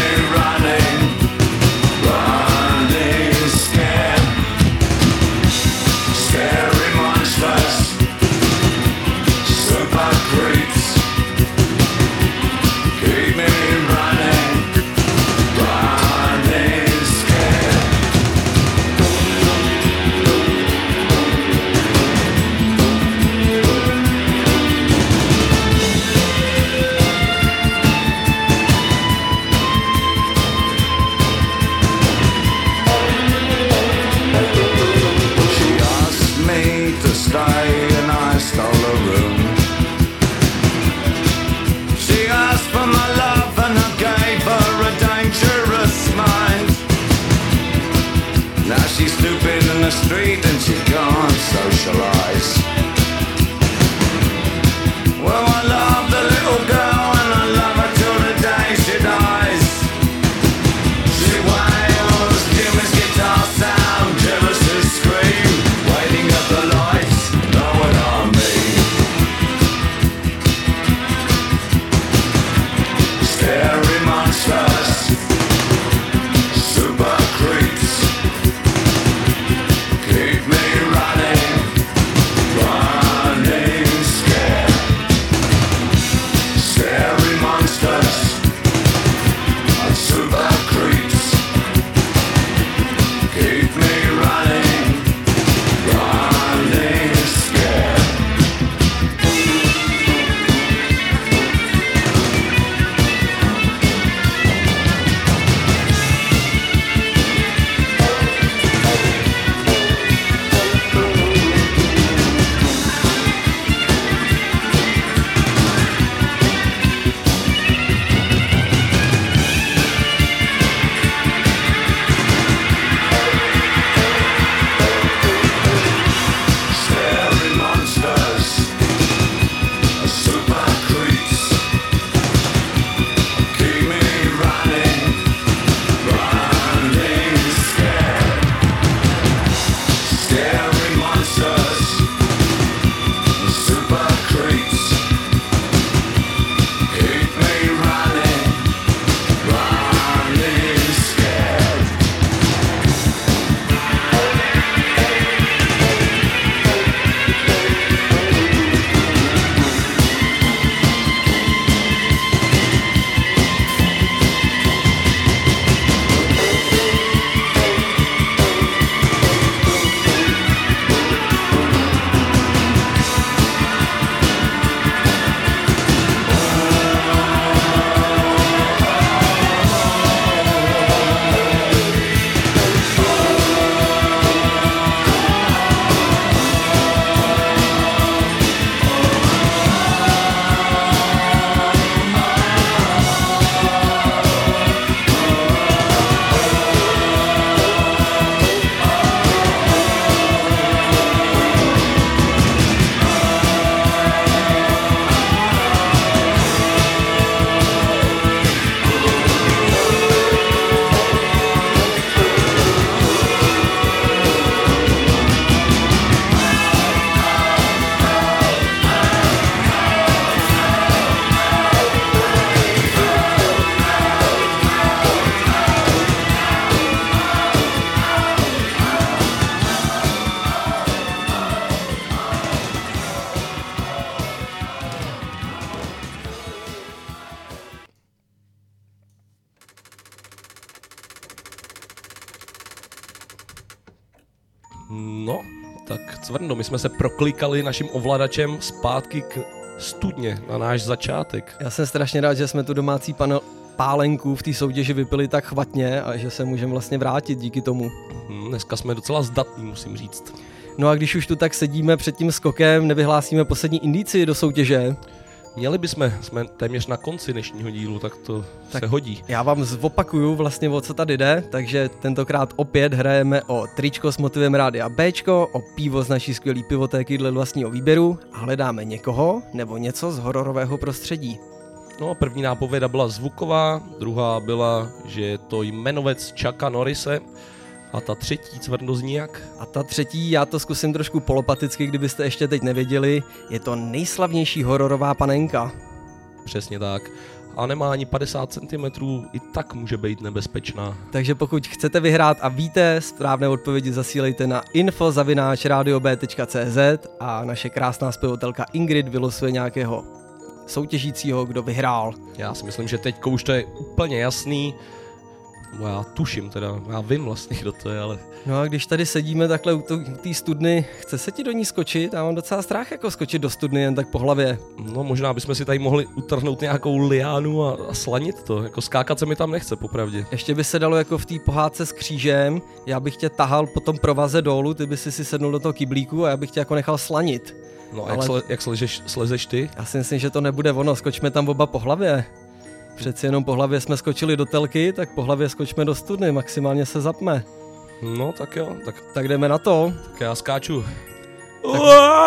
No, tak Cvrndo, my jsme se proklikali naším ovladačem zpátky k studně na náš začátek. Já jsem strašně rád, že jsme tu domácí pálenku v té soutěži vypili tak chvatně a že se můžeme vlastně vrátit díky tomu. Dneska jsme docela zdatní, musím říct. No a když už tu tak sedíme před tím skokem, nevyhlásíme poslední indici do soutěže? Měli bychom, jsme téměř na konci dnešního dílu, tak to se hodí. Já vám zopakuju vlastně, o co tady jde, takže tentokrát opět hrajeme o tričko s motivem Rádia Bčko, o pivo z naší skvělý pivotéky dle vlastního výběru a hledáme někoho nebo něco z hororového prostředí. No, první nápověda byla zvuková, druhá byla, že je to jmenovec Chucka Norrise a ta třetí, Cvrndo, zní jak? A ta třetí, já to zkusím trošku polopaticky, kdybyste ještě teď nevěděli, je to nejslavnější hororová panenka. Přesně tak. A nemá ani 50 cm, i tak může být nebezpečná. Takže pokud chcete vyhrát a víte, správné odpovědi zasílejte na info@radiob.cz a naše krásná zpěvatelka Ingrid vylosuje nějakého soutěžícího, kdo vyhrál. Já si myslím, že teďko už to je úplně jasný. Já tuším teda, já vím vlastně, kdo to je, ale... No a když tady sedíme takhle u té studny, chce se ti do ní skočit? Já mám docela strach jako skočit do studny jen tak po hlavě. No možná bychom si tady mohli utrhnout nějakou liánu a slanit to, jako skákat se mi tam nechce, popravdě. Ještě by se dalo jako v té pohádce s křížem, já bych tě tahal po tom provaze dolů, ty by si sednul do toho kyblíku a já bych tě jako nechal slanit. No a jak slezeš ty? Já si myslím, že to nebude ono, skočme tam oba po hlavě. Přeci jenom po hlavě jsme skočili do telky, tak po hlavě skočme do studny, maximálně se zapme. No tak jo, tak jdeme na to. Tak já skáču. Tak...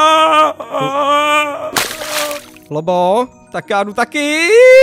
Lobo, tak já jdu taky.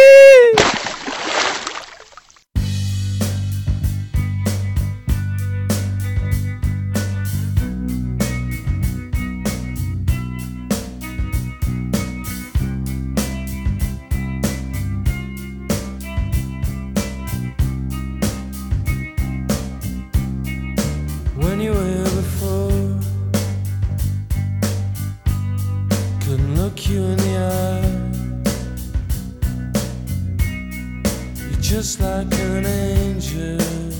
Just like an angel,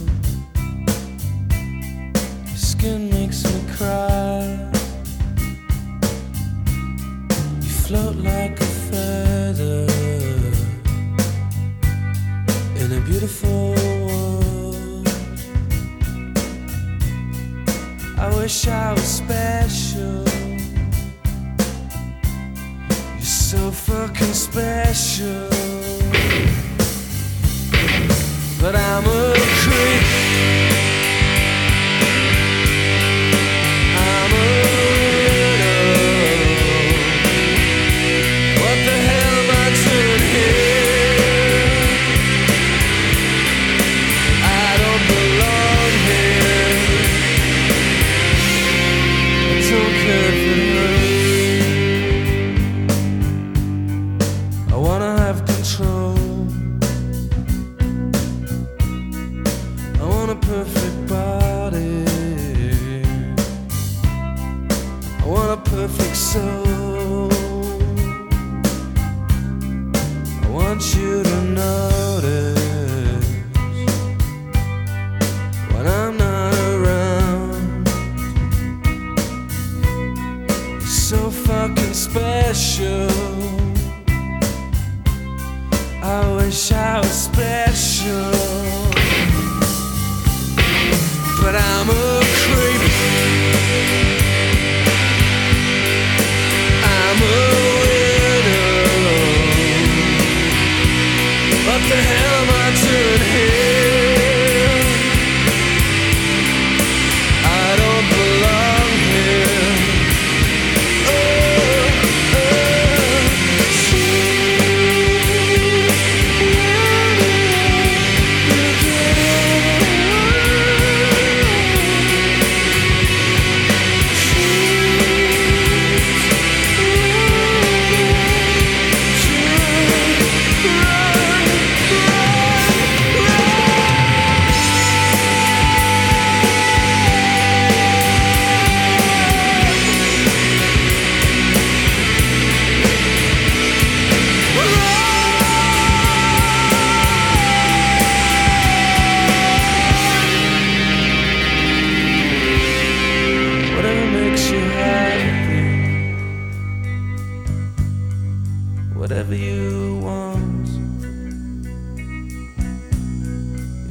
your skin makes me cry. You float like a feather in a beautiful world. I wish I was special. You're so fucking special. But I'm a creep. I'm a widow. What the hell am I doing here? I don't belong here. I don't care if it hurts. I wanna have control. Perfect body, I want a perfect soul. I want you to notice when I'm not around. You're so fucking special. I wish I was special. But I'm a creep. I'm a widow. What the hell am I doing here? I don't belong here.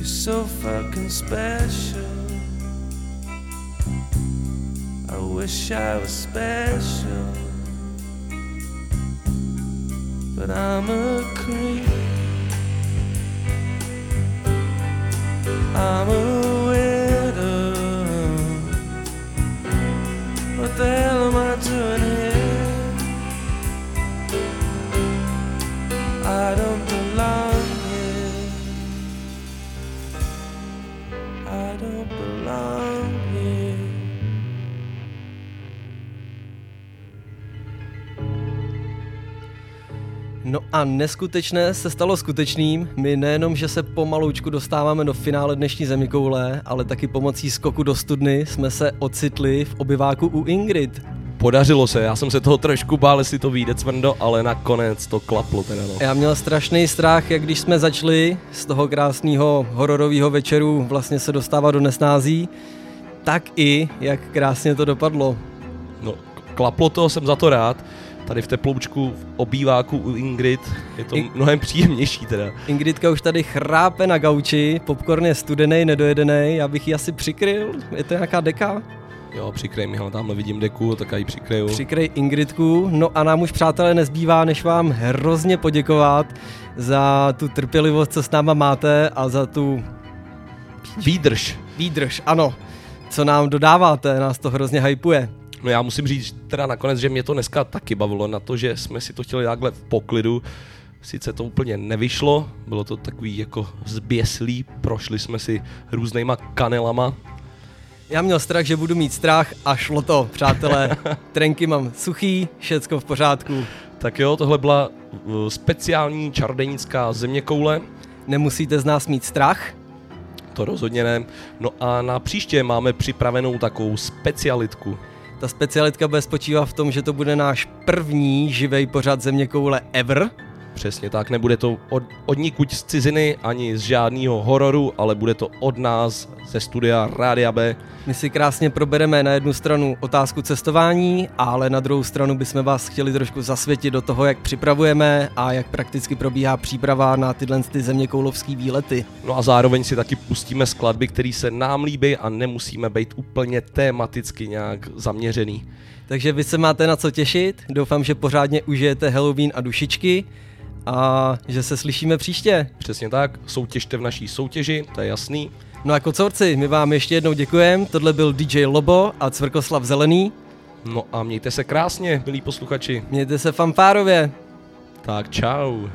You're so fucking special. I wish I was special, but I'm a creep. I'm a widow. What the hell am I doing here? I don't belong here. I don't belong here. No a neskutečné se stalo skutečným. My nejenom, že se pomaloučku dostáváme do finále dnešní Zeměkoule, ale taky pomocí skoku do studny jsme se ocitli v obyváku u Ingrid. Podařilo se, já jsem se toho trošku bál, jestli to vyjde cvrndo, ale nakonec to klaplo teda, no. Já měl strašný strach, jak když jsme začali z toho krásného hororového večeru vlastně se dostávat do nesnází, tak i jak krásně to dopadlo. No, klaplo to, jsem za to rád. Tady v teploučku v obýváku u Ingrid je to mnohem příjemnější teda. Ingridka už tady chrápe na gauči, popcorn je studený, nedojedený, já bych ji asi přikryl, je to nějaká deka? Jo, přikryj mi, tamhle vidím deku, tak já ji přikryju. Přikryj Ingridku, no a nám už přátelé nezbývá, než vám hrozně poděkovat za tu trpělivost, co s náma máte a za tu... Výdrž, ano, co nám dodáváte, nás to hrozně hypuje. No já musím říct teda nakonec, že mě to dneska taky bavilo na to, že jsme si to chtěli takhle v poklidu. Sice to úplně nevyšlo, bylo to takový jako zběslý, prošli jsme si různýma kanelama. Já měl strach, že budu mít strach a šlo to, přátelé. Trenky mám suchý, všecko v pořádku. Tak jo, tohle byla speciální čarodějnická zeměkoule. Nemusíte z nás mít strach? To rozhodně ne. No a na příště máme připravenou takovou specialitku. Ta specialitka bude spočívat v tom, že to bude náš první živej pořad Zeměkoule ever. Přesně tak, nebude to od nikud z ciziny, ani z žádného hororu, ale bude to od nás ze studia Rádia B. My si krásně probereme na jednu stranu otázku cestování, ale na druhou stranu bychom vás chtěli trošku zasvětit do toho, jak připravujeme a jak prakticky probíhá příprava na tyhle zeměkoulovský výlety. No a zároveň si taky pustíme skladby, které se nám líbí a nemusíme být úplně tematicky nějak zaměřený. Takže vy se máte na co těšit, doufám, že pořádně užijete Halloween a dušičky a že se slyšíme příště. Přesně tak, soutěžte v naší soutěži, to je jasný. No a kocourci, my vám ještě jednou děkujeme, tohle byl DJ Lobo a Cvrkoslav Zelený. No a mějte se krásně, milí posluchači. Mějte se fanfárově. Tak čau.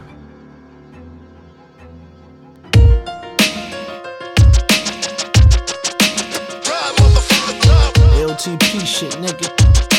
LTP shit, nigga.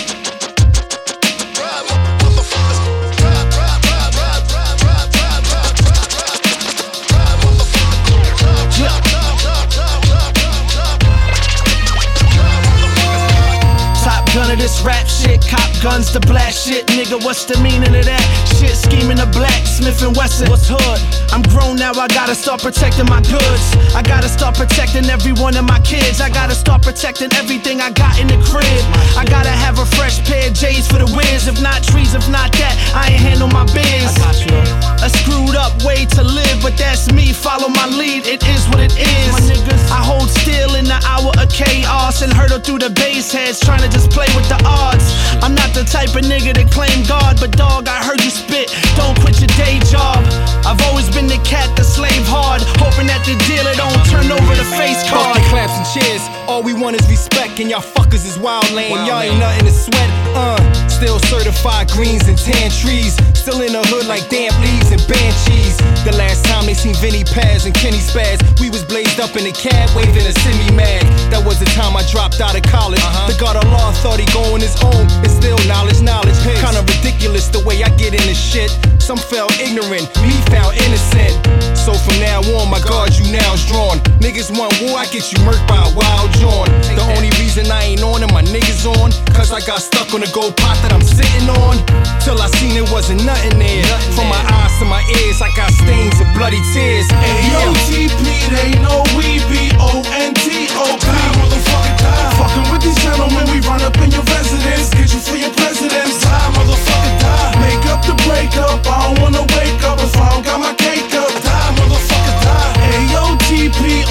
Top gun of this rap shit, cop guns to blast shit, nigga, what's the meaning of that? Shit, scheming the black, Smith & Wesson, what's hood? I'm grown now, I gotta start protecting my goods. I gotta start protecting every one of my kids. I gotta start protecting everything I got in the crib. I gotta have a fresh pair of J's for the whiz. If not trees, if not that, I ain't handle my biz. A screwed up way to live, but that's me, follow my lead, it is what it is. I hold still in the hour of chaos and hurdle through the base heads, trying to just play with the odds. I'm not the type of nigga to claim God, but dog, I heard you spit, don't quit your day job. I've always been the cat that slave hard, hoping that the dealer don't turn over the face card. Fucking claps and cheers, all we want is respect, and y'all fuckers is wild lame. Y'all ain't nothing to sweat, still certified greens and tan trees, still in the hood like damp leaves and banshees. The last time they seen Vinny Paz and Kenny Spaz, we was blazed up in a cab waving a semi-mag. That was the time I dropped out of college. The God of law thought he go on his own, it's still knowledge. Kinda ridiculous the way I get into shit. Some fell ignorant, me found innocent. So from now on, my guard you now's drawn. Niggas want war, I get you murked by a wild John. The only reason I ain't on and my niggas on, cause I got stuck on the gold pot that I'm sitting on. Till I seen it wasn't nothing there. From my eyes to my ears, I got stains of bloody tears. AOTP, they know we B-O-N-T-O-P. Motherfucking die. Fucking with these gentlemen, we run up in your residence. Get you for your presidents. Die, motherfucking die. Make up the breakup, I don't wanna wake up if I don't got my cake up. Die, motherfucker, die. AOTP,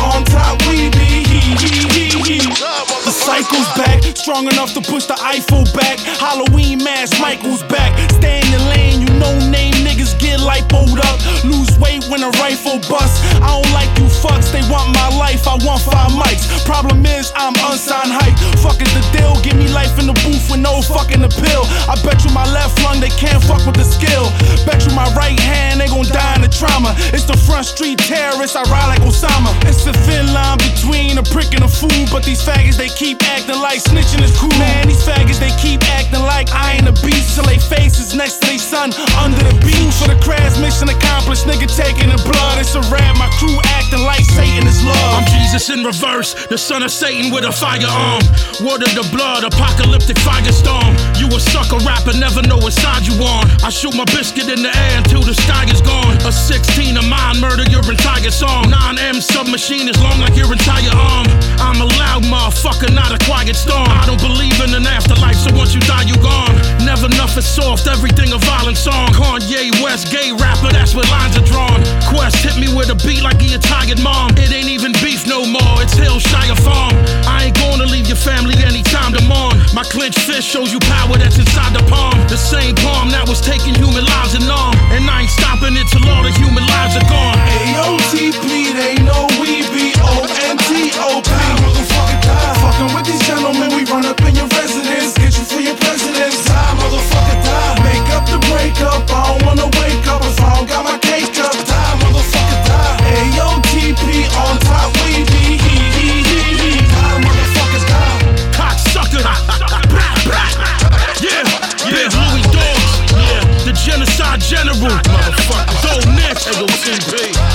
Michael's back, strong enough to push the Eiffel back. Halloween mask, Michael's back. Stay in your lane, you no name niggas get lipoed up. Lose weight when a rifle busts. I don't like you fucks, they want my life, I want 5 mics. Problem is, I'm unsigned hype. Fuck is the deal, give me life in the booth with no fucking appeal. I bet you my left lung, they can't fuck with the skill. Bet you my right hand, they gon' die in the trauma. It's the front street terrorists, I ride like Osama. It's a thin line between a prick and a fool, but these faggots, they keep acting like snitching is cool. Man, these faggots, they keep acting like I ain't a beast till they faces next to they son under the beach. For the crash mission accomplished, nigga taking the blood. It's a rap, my crew acting like Satan is love. I'm Jesus in reverse, the son of Satan with a firearm. Word of the blood, apocalyptic firestorm. You a sucker rapper, never know what side you on. I shoot my biscuit in the air until the sky is gone. A 16 of mine, murder your entire song. 9M submachine is long like your entire arm. I'm a loud motherfucker, not a quiet storm. I don't believe in an afterlife, so once you die, you gone. Never nothing soft, everything a violent song. Kanye West, gay rapper, that's where lines are drawn. Quest hit me with a beat like he a tired mom. It ain't even beef no more, it's Hillshire Farm. I ain't gonna leave your family anytime to mourn. My clenched fist shows you power that's inside the palm. The same palm that was taking human lives in arm. And I ain't stopping it till all the human lives are gone. AOTP, they know we be ONTOP. Motherfucker die. Fucking with these gentlemen, we run up in your residence. Get you for your presidents. Die, motherfucker die. Make up the breakup, I don't wanna wake up if I don't got my cake up. Die, motherfucker die. AOTP, on top we be. Die, motherfuckers die. Cocksucker. Yeah, Big Louis Dogs. Yeah, the genocide general. Motherfucker. Dope Nick. AOTP.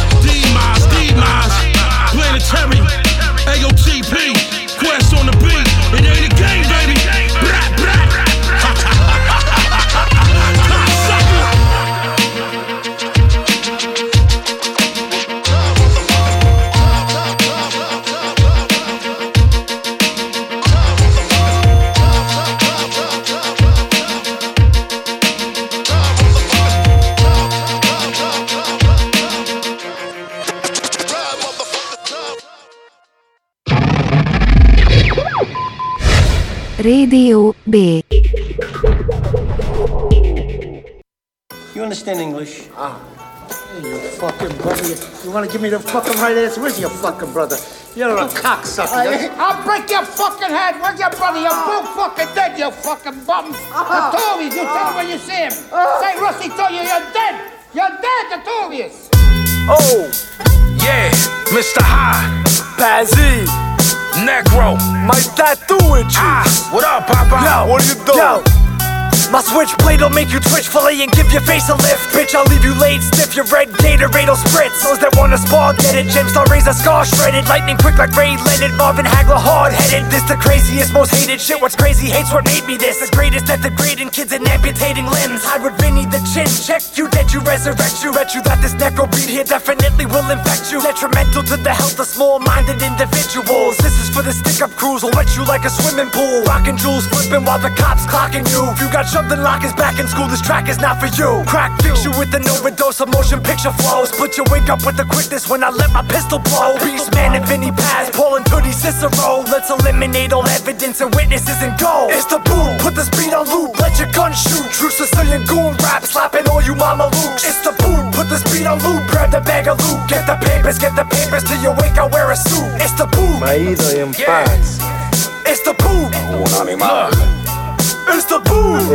Demise. Planetary. AOTP. Quest on the beat. It ain't a game, baby. Radio B. You understand English? Hey, you fucking brother. You want to give me the fucking right answer? Where's your fucking brother? You're a cocksucker. I'll break your fucking head. Where's your brother? You're both fucking dead, you fucking bum. The two of you tell him when you see him. Say Rusty told you you're dead. You're dead, the two of you. Oh, yeah, Mr. High. Bazzy. Negro. My tattoo with you. What up, Papa? Yo, what are you doing? Yo. My switchblade'll make you twitch, fillet and give your face a lift. Bitch, I'll leave you laid stiff, your red Gatorade'll spritz. Those that wanna spar, get it, Gemstar razor scar shredded. Lightning quick like Ray Leonard, Marvin Hagler hard-headed. This the craziest, most hated shit, what's crazy hates what made me this. The greatest at degrading kids and amputating limbs. Hide with Vinny the chin, check you, dead you, resurrect you. Bet you that this necro beat here definitely will infect you. Detrimental to the health of small-minded individuals. This is for the stick-up crews, will wet you like a swimming pool. Rockin' jewels flipping while the cops clocking you. If you got shoved in lockers back in school, this track is not for you. Crack fix you with an overdose of motion picture flow. Split your wig up with the quickness when I let my pistol blow. Beast Man and Vinny Paz, Paul and Tootie Cicero. Let's eliminate all evidence and witnesses and go. It's the boom, put the speed on loop, let your gun shoot. True Sicilian goon rap, slapping all you mama looks. It's the boom, put the speed on loop, grab the bag of loot. Get the papers till you wake, I wear a suit. It's the boom. Maído en paz. It's the boom. Un animal. It's the boom.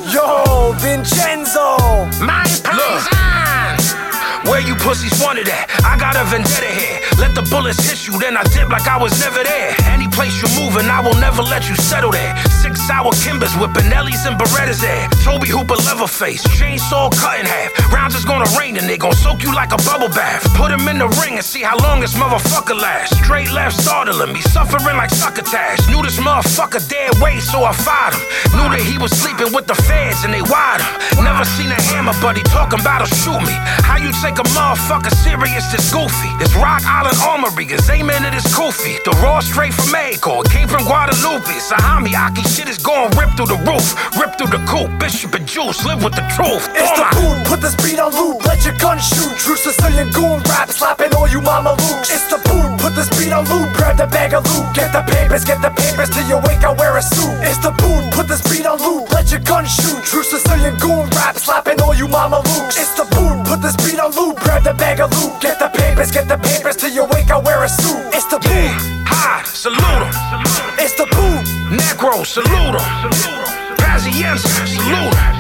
Yo, Vincenzo. My paisan. Where you pussies wanted at? I got a vendetta here. Let the bullets hit you, then I dip like I was never there. Any place you're moving, I will never let you settle there. 6 hour Kimbers with Benellis and Berettas there. Toby Hooper Leatherface, chainsaw cut in half. Rounds is gonna rain and they gon' soak you like a bubble bath. Put him in the ring and see how long this motherfucker lasts. Straight left startling me, suffering like succotash. Knew this motherfucker dead weight, so I fired him. Knew that he was sleeping with the feds and they wired him. Never seen a hammer, but he talking about to shoot me. How you take a motherfucker serious this goofy? This Rock Island Armory is aiming at his koofy. The raw straight from Mayco, it came from Guadalupe. Sahami Aki shit is going rip through the roof, rip through the coop. Bishop and Juice live with the truth. It's the boom, put the speed on loop, let your gun shoot. True Sicilian goon rap, slapping all you mama looks. It's the boom, put the speed on loop, grab the bag of loot. Get the papers, get the papers till you wake, I wear a suit. It's the boom, put this beat on loop, let your gun shoot. True Sicilian goon rap, slapping all you mama loops. It's the boom, put this beat on loop, grab the bag of loot. Get the papers till you wake, I wear a suit. It's the boom, Hi, salute 'em. it's the boom. Negro, salute 'em. Pazienza, salute 'em.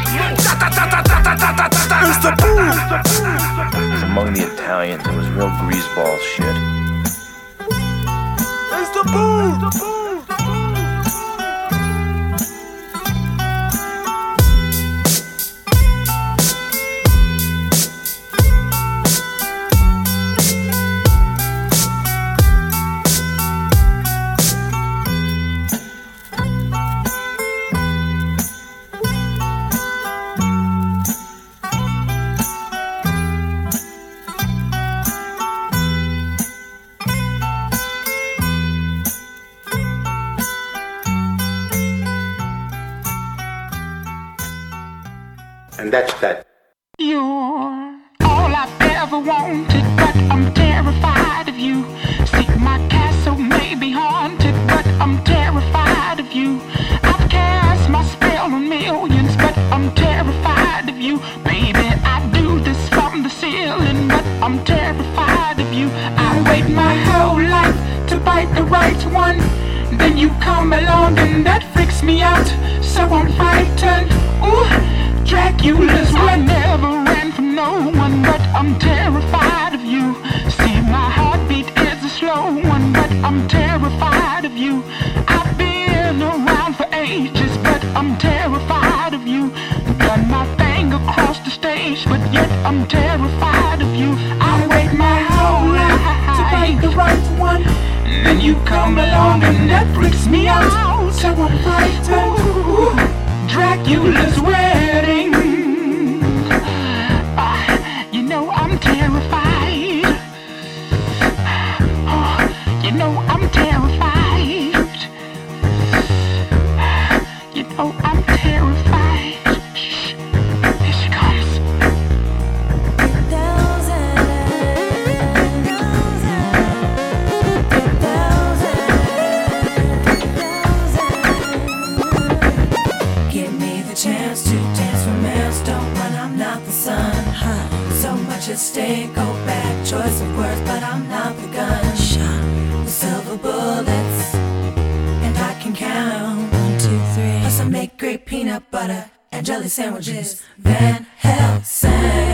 It's the boom. Among the Italians, it was real greaseball shit. It's the boom. And that's that. You're all I've ever wanted, but I'm terrified of you. See, my castle may be haunted, but I'm terrified of you. I've cast my spell on millions, but I'm terrified of you. Baby, I do this from the ceiling, but I'm terrified of you. I wait my whole life to bite the right one. Then you come along and that freaks me out. So I'm frightened. Ooh. Dracula's I never ran from no one, but I'm terrified of you. See, my heartbeat is a slow one, but I'm terrified of you. I've been around for ages, but I'm terrified of you. Done my thing across the stage, but yet I'm terrified of you. I wait my whole life to find the right one. Then you come along and that freaks me out. So I'm frightened. Ooh. Dracula's wedding. You know I'm terrified. Oh, you know I'm terrified. You know I'm terrified. Shh. Here she comes. Chance to dance for Maelstone when I'm not the sun. So much at stake, go back. Choice of words, but I'm not the gun. Shot with silver bullets, and I can count 1, 2, 3. Plus I make great peanut butter and jelly sandwiches. Van Helsing.